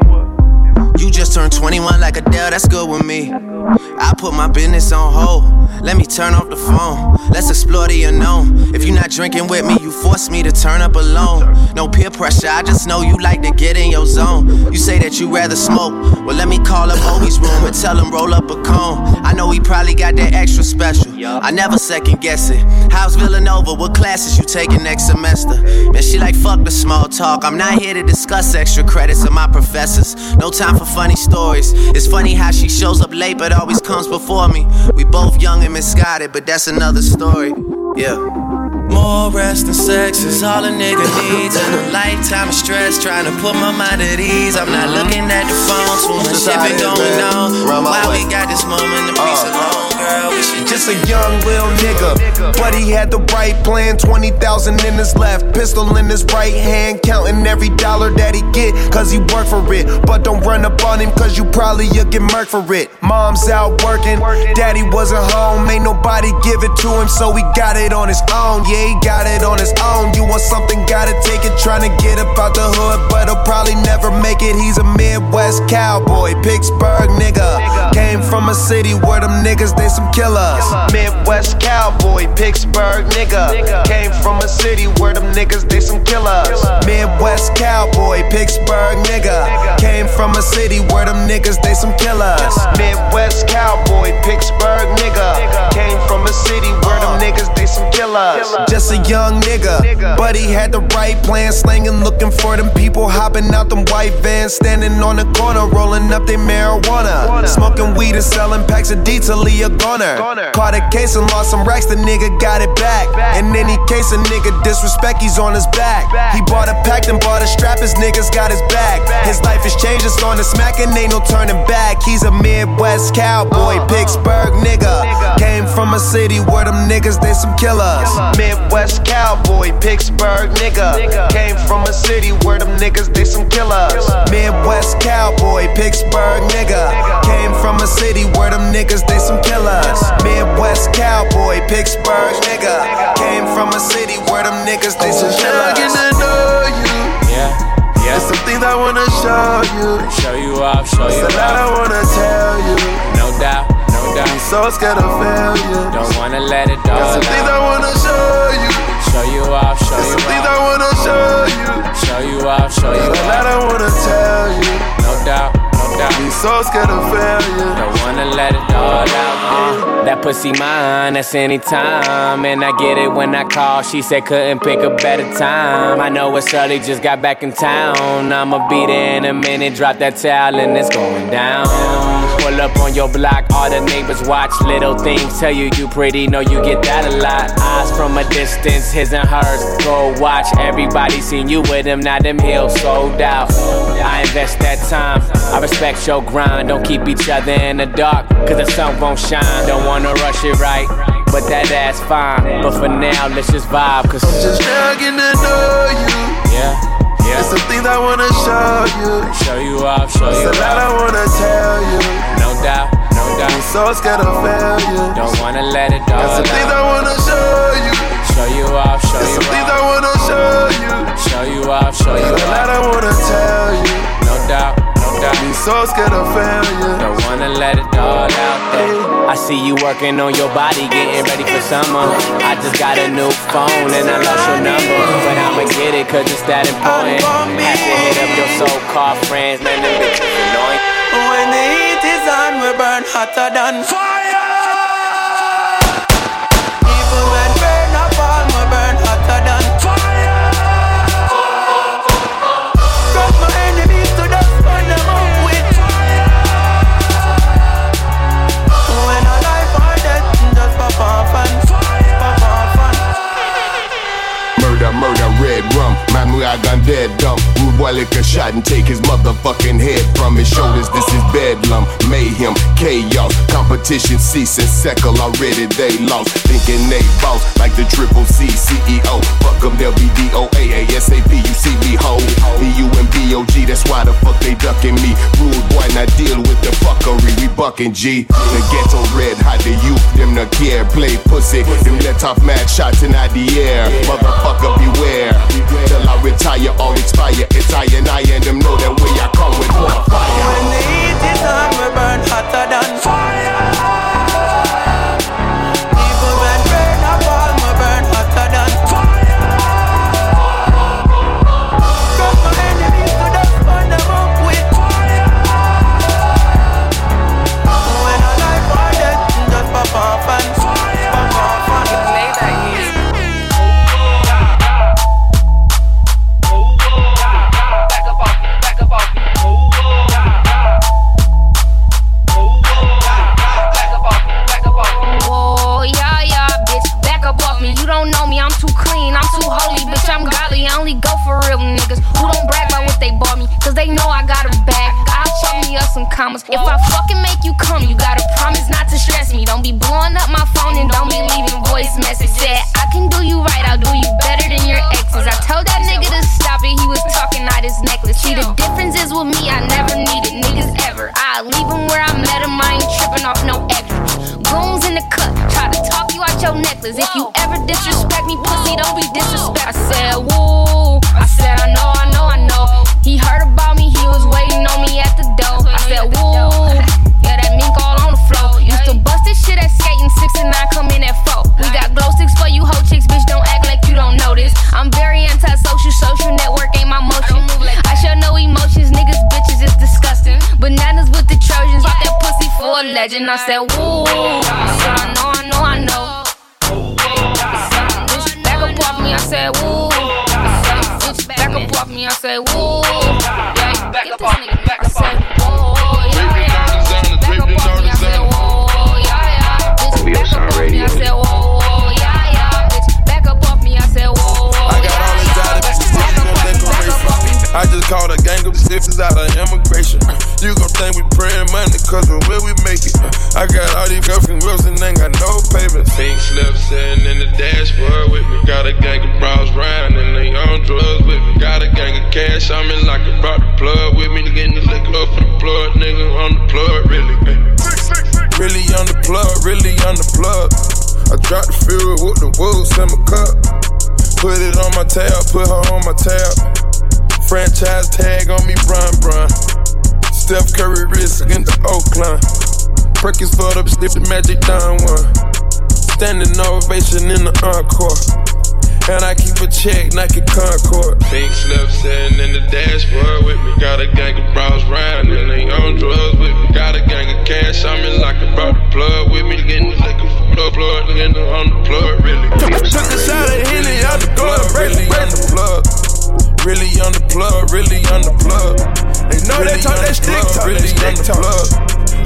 You just turned 21 like Adele, that's good with me. I put my business on hold. Let me turn off the phone. Let's explore the unknown. If you're not drinking with me, you force me to turn up alone. No peer pressure, I just know you like to get in your zone. You say that you rather smoke. Well, let me call up Obi's room and tell him roll up a cone. I know he probably got that extra special. I never second guess it. How's Villanova? What classes you taking next semester? Man, she like fuck the small talk. I'm not here to discuss extra credits of my professors. No time for funny stories. It's funny how she shows up late but always comes before me. We both young and misguided, but that's another story. Yeah. More rest and sex is all a nigga needs. And a lifetime of stress, trying to put my mind at ease. I'm not looking at the phone, too much shit been going on. While we got this moment of peace alone, girl, we should just a young little nigga, but he had the right plan. 20,000 in his left, pistol in his right hand, counting every dollar that he get, cause he work for it. But don't run up on him, cause you probably you'll get murked for it. Mom's out working, daddy wasn't home, ain't nobody give it to him, so he got it on his own. Yeah, he got it on his own. You want something, gotta take it. Tryna get up out the hood, but he'll probably never make it. He's a Midwest cowboy, Pittsburgh nigga. Came from a city where them niggas, they some killers. Midwest cowboy, Pittsburgh nigga. Came from a city where them niggas, they some killers. Midwest cowboy, Pittsburgh nigga. Came from a city where them niggas, they some killers. Midwest cowboy, Pittsburgh nigga. Came from a city where them niggas, they some killers. Just a young nigga, but he had the right plan. Slanging, looking for them people, hopping out them white vans. Standing on the corner, rolling up their marijuana. Smoking weed and selling packs of D till he a goner. Caught a case and lost some racks, the nigga got it back. In any case, a nigga disrespect, he's on his back. He bought a pack, then bought a strap, his niggas got his back. His life is changed, it's on the smack and ain't no turning back. He's a Midwest cowboy, Pittsburgh nigga. Came from a city where them niggas, they some killers. Midwest cowboy, Pittsburgh nigga. Came from a city where them niggas, they some killers. Midwest cowboy, Pittsburgh nigga. Came from a city where them niggas, they some killers. Midwest cowboy, Pittsburgh nigga. Came from a city where them niggas, they some killers. Getting to know you. Yeah. There's some things I wanna show you. Show you off, show you off. There's a lot I wanna tell you. No doubt, no doubt. I'm so scared of failure. Don't wanna let it all out. There's some things I wanna show you. Show you off, show you off. There's some things I wanna show you. Show you off, show you off. There's a lot I wanna tell you. No doubt, no doubt. I'm so scared of failure. Don't wanna let it all out. That pussy mine, that's anytime. And I get it when I call. She said couldn't pick a better time. I know it's early, just got back in town. I'ma be there in a minute, drop that towel and it's going down. Pull up on your block, all the neighbors watch. Little things tell you you pretty, know you get that a lot. Eyes from a distance, his and hers, go watch. Everybody seen you with him, now them heels sold out. I invest that time. I respect your grind, don't keep each other in the dark, cause the sun won't shine. Don't wanna rush it right, but that's fine. But for now, let's just vibe, cause I'm just now getting to know you. Yeah. There's some things I wanna show you. Show you off, show you off. There's a lot I wanna tell you. No doubt, no doubt. I'm so scared of failure. Don't wanna let it all There's some things I wanna show you. Show you off, show you off. There's some things I wanna show you. Show you off, show you off. There's a lot I wanna tell you. No doubt, no doubt. I'm so scared of failure. Don't wanna let it all out there. I see you working on your body, getting ready for summer. I just got a new phone and I lost your number, but I'ma get it cause it's that important. Have to hit up your so-called friends, man, them bitches annoying. When the heat is on, we burn hotter than fire. Even when burn up all, we burn hotter than fire. Cut my enemies to dust, burn them up with fire. When a life or death, just pop off and fire, pop off and murder, murder, red rum. Man, we are gone dead dumb. Rude boy lick a shot and take his motherfucking head from his shoulders. This is bedlam, mayhem, chaos. Competition cease and settle already they lost. Thinking they boss like the Triple C CEO. Fuck them, they'll be DOA, ASAP, you see me ho. BU and BOG, that's why the fuck they ducking me. Rude boy, not deal with the fuckery, we bucking G. The ghetto red hot, the youth, them no care. Play pussy, them let off mad shots in the air. Motherfucker beware, till I retire or expire. It's I and them know that way I come with more fire. When the heat is on, we burn hotter than fire. Even when rain up all, we burn hotter than fire. Cut my enemies to dust, burn them up with fire. When a life or death, just pop off and fire, pop off and play that music. Don't know me, I'm too clean, I'm too holy, bitch, I'm godly. I only go for real niggas who don't brag about what they bought me, cause they know I got a bag. I'll chop me up some commas. If I fucking make you come, you gotta promise not to stress me. Don't be blowing up my phone and don't be leaving voice message. Said I can do you right, I'll do you better than your exes. I told that nigga to stop it, he was talking out his necklace. See, the difference is with me, I never needed niggas ever. I leave him where I met him, I ain't tripping off no extras. Goons in the cut, try to talk you out your necklace. If you ever disrespect me, pussy, don't be disrespect. I said, woo, I said, I know, I know, I know. He heard about me, he was waiting on me at the door. I said, woo, yeah, that mink all on the floor. Used to bust this shit at skating, 6 and 9 come in at 4. We got glow sticks for you hoe chicks, bitch, don't act like you don't know this. I'm very antisocial, social network ain't my motion. I show no emotions, niggas, bitches, it's disgusting. Bananas with the Trojans, off that pussy for a legend. I said, woo, I said, I know, I know, I know. Back up off me, I said, woo. Back up off me, I said, woo. Yeah, back up off me, I said, woo. Back up off me, I said, woo. Yeah, bitch, back up off me, I said, woo. Yeah, bitch, back up off me, I said, woo. I got all these out of decoration. I just called a gang of stiffs out of immigration. You gon' think we praying money cause of where we make it. I got all these girlfriend girls and ain't got no payments. Pink slips sitting in the dashboard with me. Got a gang of bros riding and they on drugs with me. Got a gang of cash on me like I brought the plug with me. Getting the liquor up for the plug, nigga on the plug, really. Really on the plug, really on the plug. I dropped the fuel with the wolves in my cup. Put it on my tab, put her on my tab. Franchise tag on me, brun. Steph Curry wrist against the Oakland. Perkins for the stiff the Magic Don one. Standing ovation in the encore. And I keep a check, Nike Concord. Pink slip sitting in the dashboard with me. Got a gang of bros riding and they on drugs with me. Got a gang of cash on me like I brought the plug with me. Getting the liquor for the plug, nigga on the plug, really. Took a shot at Henny out the plug, really on the plug. Really on the plug, really on the plug. They know really they talk that stick talk, really on the plug.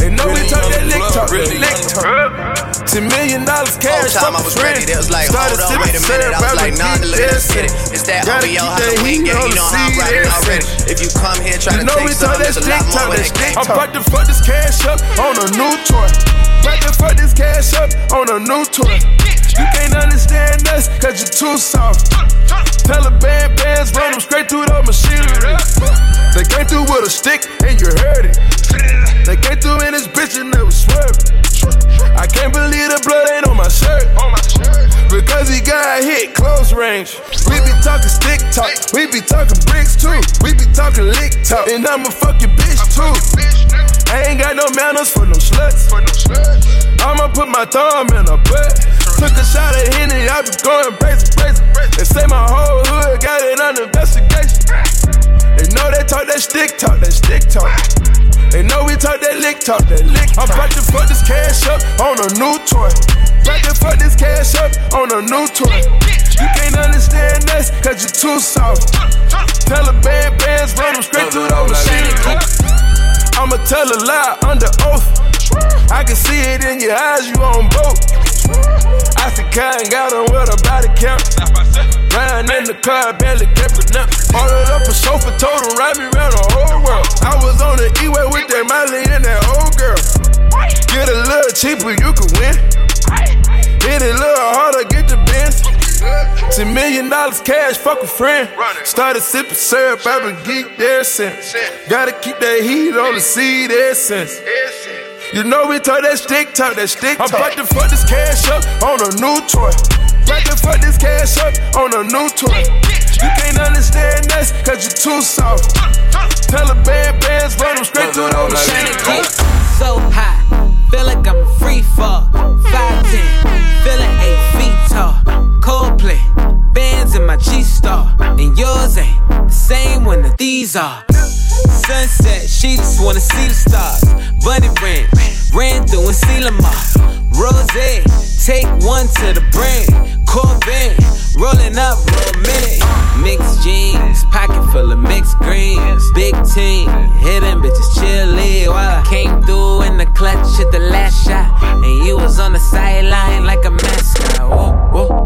They know we talk that lick talk, lick talk. $10 million cash, time I was ready, they was like, hold on, wait a minute. I was like, nah, look, let's get it. It's that homie, yo, how the wing gang, you know how I'm riding already. If you come here, try to take some, there's a lot more when it came. I'm about to fuck this cash up on a new toy. About to fuck this cash up on a new toy. You can't understand us, cause you're too soft. Taliban bands run them straight through the machinery. They came through with a stick and you heard it. They came through in this bitch and they was swerving. I can't believe the blood ain't on my shirt. Because he got hit close range. We be talking stick talk, we be talking bricks too. We be talking lick talk, and I'm a fucking bitch too. I ain't got no manners for no sluts. I'ma put my thumb in her butt. Took a shot at Henny, I be going crazy. They say my whole hood got it under investigation. They know they talk that stick talk, They know we talk that lick talk, I'm about to fuck this cash up on a new toy. About to fuck this cash up on a new toy. You can't understand us, cause you're too soft. Taliban bands run them straight through the machine. I'ma tell a lie under oath. I can see it in your eyes, you on boat. I see Kyle got on with a body count. Riding in the car, barely kept it up. Ordered up a chauffeur, told him ride me around the whole world. I was on the E-way with that Miley and that old girl. Get a little cheaper, you can win. Hit it a little harder, get the Benz. $10 million cash, fuck a friend. Started sipping syrup, I've been geeked there since. Gotta keep that heat on the seed essence. You know we talk that stick talk, I'm about to fuck this cash up on a new toy. About to fuck this cash up on a new toy. You can't understand us, cause you're too soft. Taliban bands run them straight through the machine. So high, feel like I'm a free fall. 5'10", feeling 8 feet tall. Coldplay, bands in my G-Star. And yours ain't the same one that these are. Sunset, she just wanna see the stars. Bunny ranch, ran through and seal them off. Rose, take one to the brain. Corvette, rolling up, romantic. Mixed jeans, pocket full of mixed greens. Big team, hidden bitches chillin' while I came through in the clutch at the last shot. And you was on the sideline like a mascot. Whoa, whoa.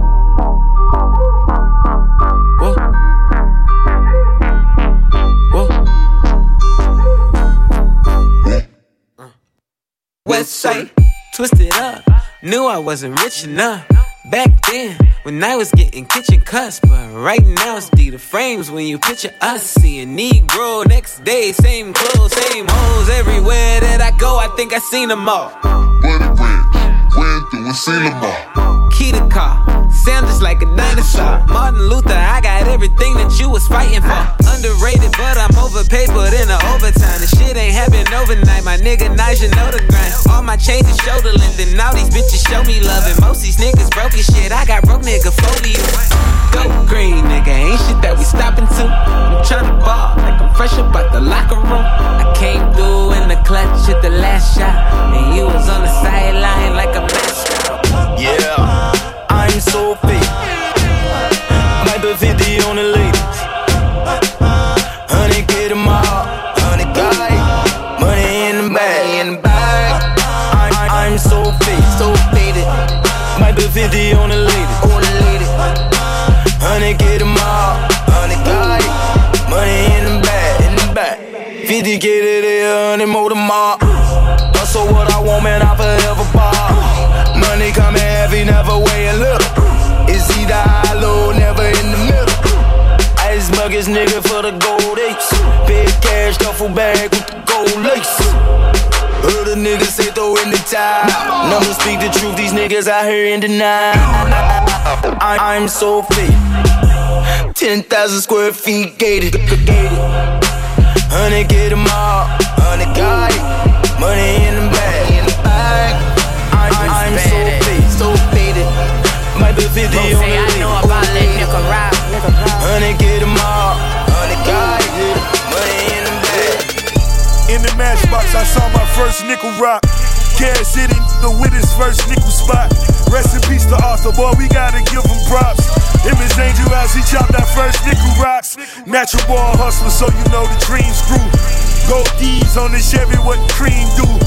Westside, twisted up. Knew I wasn't rich enough back then when I was getting kitchen cuts. But right now it's D the frames when you picture us. Seeing Negro next day, same clothes, same hoes. Everywhere that I go, I think I seen them all. Bunny ranch, ran through and seen them all. Key to car, sound just like a dinosaur. Martin Luther, I got everything that you was fighting for. Underrated, but I'm overpaid, put in the overtime. The shit ain't happen overnight, my nigga Nigel know the grind. All my chains is shoulder length, and all these bitches show me love. And most these niggas broke as shit, I got broke nigga phobia. Go green, nigga, ain't shit that we stopping to. I'm tryna ball, like I'm fresh up out the locker room. I came through in the clutch at the last shot, and you was on the sideline like a mascot. Yeah, I'm so fake. Might be 50 on the ladies. Honey, get them all. Honey, got it. Money in the bag. I'm so fake, so faded. Might be 50 on the ladies. Honey, get them all. Honey, got it. Money in the bag. 50 get it there, honey, mow them all. Hustle what I want, man, I forever ball. Money coming heavy, never weighing little. It's either high, low, never in the middle. Ice buckets, nigga, for the gold ace. Big cash, duffel bag with the gold lace. Heard a nigga say throw in the towel. Numbers speak the truth, these niggas out here in denial. I'm so fit. 10,000 square feet gated. Honey, get them all. Honey, got it. Money in the bag. I'm so faded. Might be 50 on the say I know about that nigga rap. Honey, get them all. Honey, got it. Money in the bag. In the matchbox, I saw my first nickel rock. Cash City nigga with his first nickel spot. Rest in peace to Arthur, boy, we gotta give him props. In his Angel House, he chopped that first nickel rocks. Natural born hustler, so you know the dreams grew. Gold D's on the Chevy, what cream do.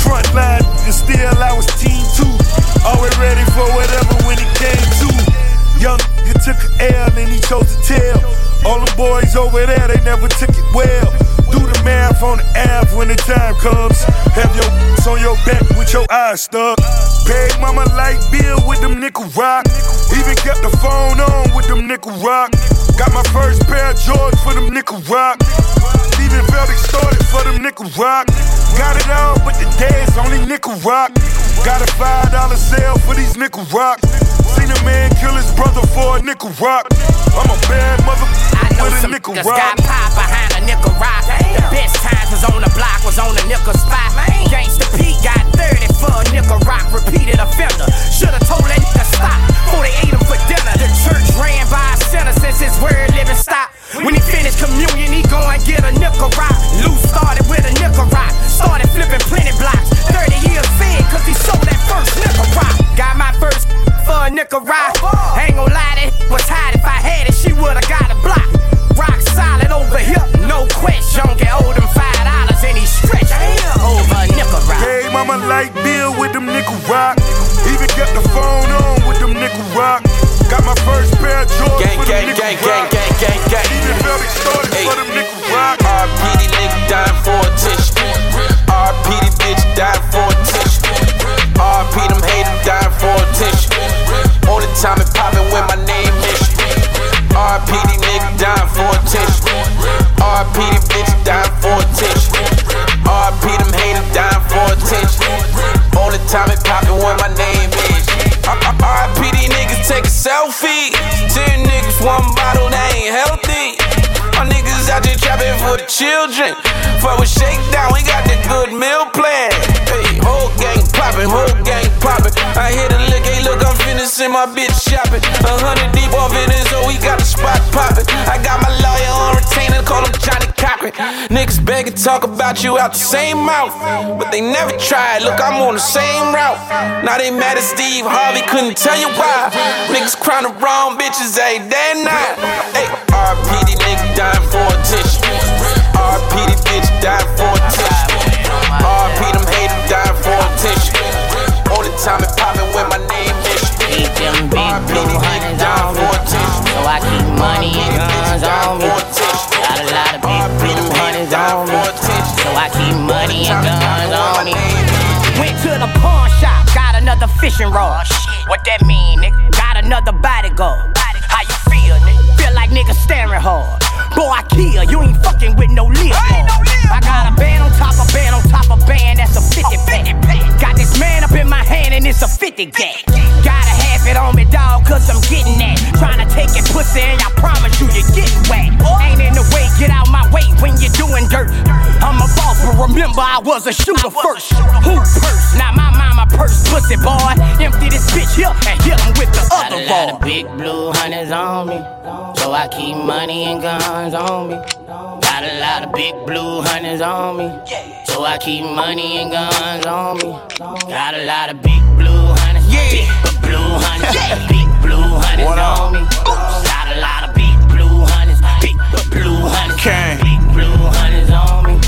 front line, and still I was team 2. Always ready for whatever when it came to. Young nigga took an L and he chose to tell. All the boys over there, they never took it well. Do the math on the app when the time comes. Have your on your back with your eyes stuck. Paid mama like bill with them nickel rock. Even kept the phone on with them nickel rock. Got my first pair of Jordans for them nickel rock. Even felt extorted for them nickel rock. Got it all, but the dad's only nickel rock. Got a $5 sale for these nickel rocks. Seen a man kill his brother for a nickel rock. I'm a bad mother with a nickel rock. Got pop behind a nickel rock. The best times was on the block, was on the nickel spot. Gangsta Pete got 30 for a nickel rock. Repeated offender. Should've told that nigga stop before they ate him for dinner. The church ran by a sinner since his word living stopped. When he finished communion, he go and get a nickel rock. Lou started with a nickel rock. Started flipping plenty blocks. 30 years fed cause he sold that first nickel rock. Got my first for a nickel rock. Ain't gon' lie, that was hot. If I had it, she would've got a block. Rock solid over here, no question. Get owe them $5 and he stretch over a nickel rock. Hey, mama like Bill with them nickel rock. Even kept the phone on with them nickel rock. Got my first pair of Jordans for them nickel rock. Even felt extorted for them nickel rock. RP, nigga dying for a tissue. RP, the bitch dying for a tissue. RP, them haters dying for a tissue. Only time it poppin' when my name is RP, the nigga dying for a tissue. RP, the bitch dying for a tissue. RP, them haters dying for a tissue. Only time it poppin' when my name is RP, these niggas take a selfie. 10 niggas, 1 bottle, they ain't healthy. My niggas out there trapping for the children. Fuck with shakedown, we got the good meal plan. Hey, whole gang poppin', whole gang poppin'. I hit a lick, hey look, I'm finna send my bitch shopping. 100 deep off in it, so we got the spot poppin'. I got my lawyer on retainer, call him Johnny Cochran. Niggas beg and talk about you out the same mouth, but they never tried. Look, I'm on the same route. Now they mad at Steve Harvey, couldn't tell you why. Niggas crying the wrong bitches every day and night. Hey, RP, these niggas dying for a tissue. RP, the bitch dying for a tissue. RP, them haters dying for a tissue. Only time it poppin' when my name is Keep them big blue hundreds on me, so I keep money and guns on me. Got a lot of big blue hundreds on me, so I keep money and guns on me. Went to the pawn shop, got another fishing rod. What that mean, nigga? Got another bodyguard. How you feel, nigga? Feel like niggas staring hard. Boy, I kill, you ain't fucking with no lip. I got a band on top of band on top of band, that's a 50 pack. Got this man up in my hand and it's a 50 gag. Gotta have it on me, dawg, cause I'm getting that. Tryna take it pussy and I promise you you're getting wet. Ain't in the way, get out my way when you're doing dirt. I'm a boss, but remember I was a shooter first. Who purse? Now my mama purse, pussy boy. Empty this bitch here and hit him with the other ball. Got a lot of big blue hundreds on me, so I keep money and guns on me. Got a lot of big blue hundreds on me, so I keep money and guns on me. Got a lot of big blue hundreds, big blue hundreds, big blue hundreds on me. Got a lot of big blue hundreds, big blue hundreds, big blue hundreds on me.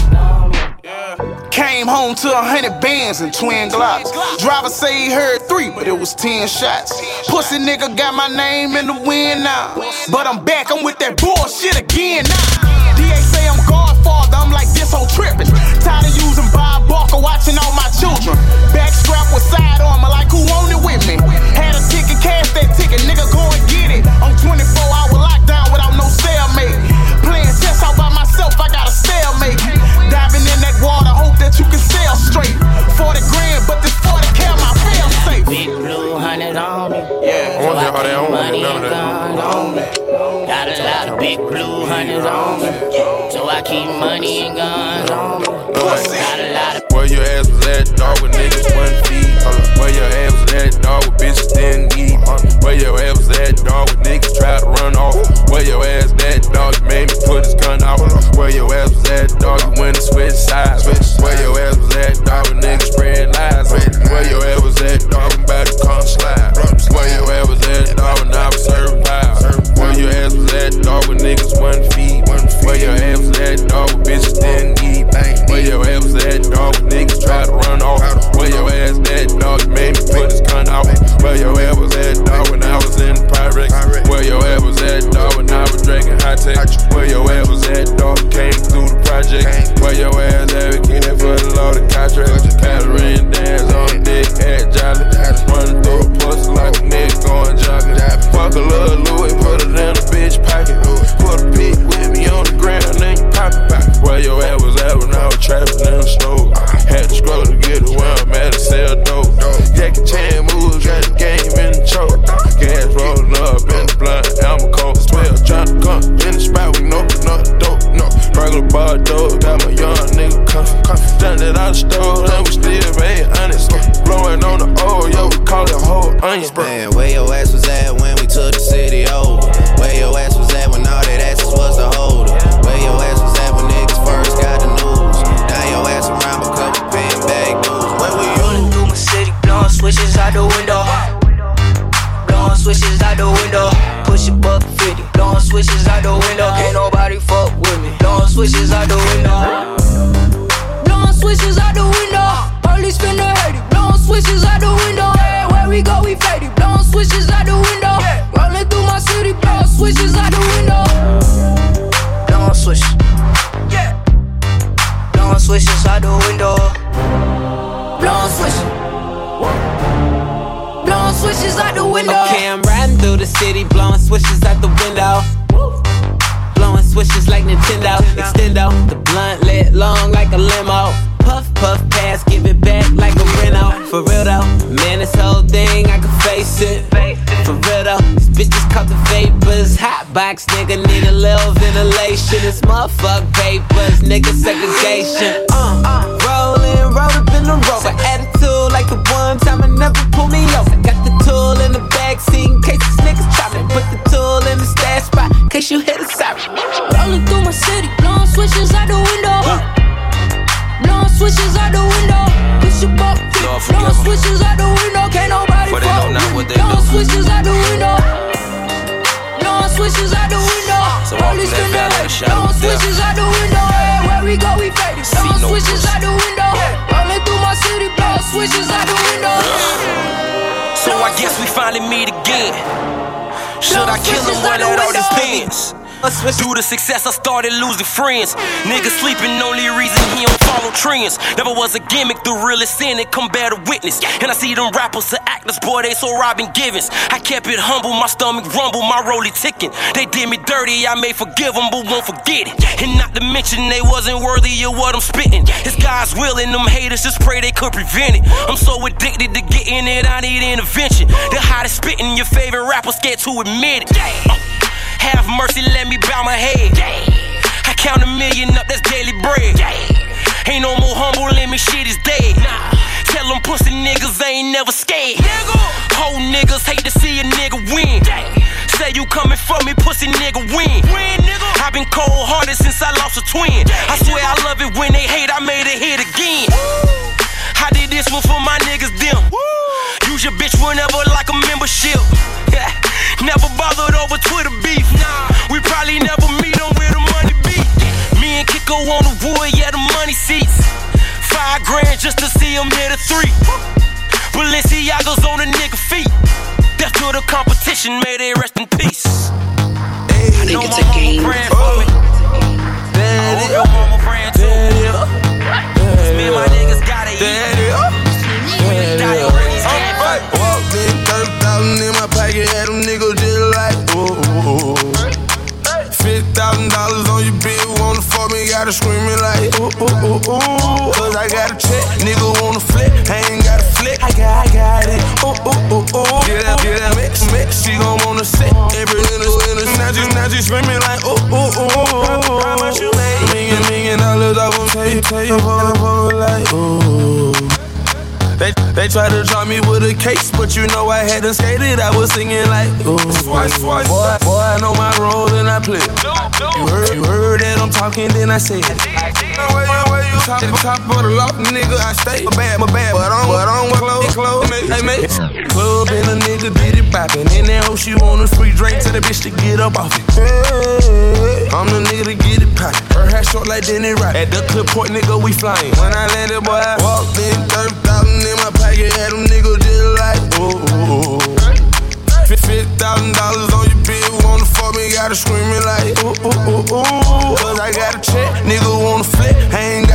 Came home to 100 bands and twin Glocks. Driver say he heard 3, but it was 10 shots. Pussy nigga got my name in the wind now, but I'm back, I'm with that bullshit again now. DA say I'm Godfather, I'm like this whole trippin'. Tired of using Bob Barker, watching all my children. Back strap with side armor, like who owned it with me? Had a ticket, cash that ticket, nigga go and get it. I'm 24-hour lockdown without no cellmate. Playing chess all by myself, I got a stalemate. Diving in that water, hope that you can sail straight. 40 grand, but this 40 cal my fail safe. Big blue hundreds on me, so I keep money and guns on me. Got a lot of big blue hundreds on me, so I keep money and guns on me. Got a lot of. Where your ass was at, dog, with niggas wouldn't feed. Where your ass was at, dog, with bitches didn't eat. Where your ass was at, dog, with niggas tried to run off. Where your ass at, dog, you made me put his gun out. Where your ass was at, dog, you went and switch sides. Where your ass was at, dog, with niggas spread lies. Where your ass was at, dog, I'm about to come slide. Where your ass was at, dog, when I was serving pies. Where your ass was at, dog, with niggas wouldn't feed. Where your ass was at, dog, with bitches didn't eat. Where your ass was at, dog, with niggas tried to run off. Where your ass at? We keep that for the law, the contract. Catherine dance on dick, at Jolly. Running through a pussy like a nigga going jogging. Fuck a little Louis, put it in a bitch pocket. Put a pic with me on the ground, then you pop it back. Where your ass was at when I was trapping in the snow. Had to scroll to get it where I'm at to sell dope. Jackie Chan moves, got the game in the choke. Gas rolling up in the blunt, I'm a cold 12. Tryna come in the spot, we know the dope. No, regular bar dope, got my young nigga comfy. Done it out the stove, and we still made honest. Blowing on the old, yo, we call it whole onion. Man, where your ass was at when we took the city over? Where your ass was at when all that asses was the holder? Where your ass was at when niggas first got the news? Now your ass around because we paying bag dues. Where were you? Rolling through my city, blowing switches out the window. Blowing switches out the window. Push a buck 50, blowing switches out the window. Can't nobody fuck with me. Blowing switches out the window. Blowing switches out the window. Police finna hate it. Blowing switches out the window. Everywhere we go, we faded. Blowing switches out the window. Rolling through my city, blowing switches out the window. Blowing switches. Blowing switches out the window. Blowing switches. Blowing switches out the window. Okay, I'm riding through the city, blowing switches out the window. Blowing switches like Nintendo. Extendo, the blunt lit long like a limo. Puff, puff, pass, give it back like a Renault. For real though, man, this whole thing, I can face it. For real though, these bitches caught the vapors. Hot box, nigga, need a little ventilation. It's motherfuck papers, nigga, segregation. Rollin', roll up in the rover. Attitude like the one time I never pull me over. Got the tool in the backseat in case these niggas try me. Put the tool in the stash spot in case you hit a siren. Rolling through my city, blowing switches out the window. Blowing switches out the window. Push your buck, blowing switches out the window. Can't nobody fuck with me. Blowing switches out the window. Blowing switches out the window. Police finna hate it. Blowing switches out the window. Everywhere we go, we faded. Blowing switches out the window. Rolling through my city, blowing switches out the window. So I guess we finally meet again. Should I kill him while at all these things? Due to success, I started losing friends. Niggas sleeping, only reason he don't follow trends. Never was a gimmick, the realest in it, come bear the witness. And I see them rappers, the actors, boy, they so Robin Givens. I kept it humble, my stomach rumble, my rollie ticking. They did me dirty, I may forgive them, but won't forget it. And not to mention, they wasn't worthy of what I'm spitting. It's God's will, and them haters just pray they could prevent it. I'm so addicted to getting it, I need intervention. The hottest spitting, your favorite rapper scared to admit it. Have mercy, let me bow my head. I count 1 million up, that's daily bread. Ain't no more humble in me, shit is dead. Tell them pussy niggas I ain't never scared. Whole niggas hate to see a nigga win. Say you coming for me, pussy nigga win. I been cold hearted since I lost a twin. I swear I love it when they hate, I made a hit again. I did this one for my niggas, them. Use your bitch whenever like a membership. Never bothered over Twitter beef. We probably never meet on where the money be. Me and Kiko on the wood, yeah, the money seats. $5 grand just to see him hit a 3. Balenciaga's on a nigga feet. Death to the competition, may they rest in peace. Hey, I think it's a game. Daddy, your mama praying too. Me and my niggas gotta eat. Walked in, 30,000 in my pocket, had them niggas just like, ooh. $50,000 on your bill, wanna fuck me, gotta screaming like, ooh. Cause I got a check, nigga wanna flip, I ain't got a flick, I got it, ooh. Get that mix, she gon' wanna sit, every in the now she screaming like, ooh. How much you made? $1 million off on tell you, like, ooh. They tried to drop me with a case, but you know I hadn't skated. I was singing like, ooh. Boy, I know my role and I play. You heard that I'm talking, then I say it. Where you talking? Top of the loft, nigga, I stay. My bad, but I don't wear clothes. Hey, mate. Club and a nigga did it poppin'. And that hoe, she want a free drink to the bitch to get up off it. Hey, I'm the nigga to get it poppin'. Her hair short like Denny Rock. At the clip point, nigga, we flyin'. When I landed, boy, I walked in, 30,000 in my pocket, had them niggas just like, ooh. $50,000 on your bill, wanna fuck me, gotta scream it like ooh, ooh, ooh, ooh. Cause I got a check, nigga wanna flip, I ain't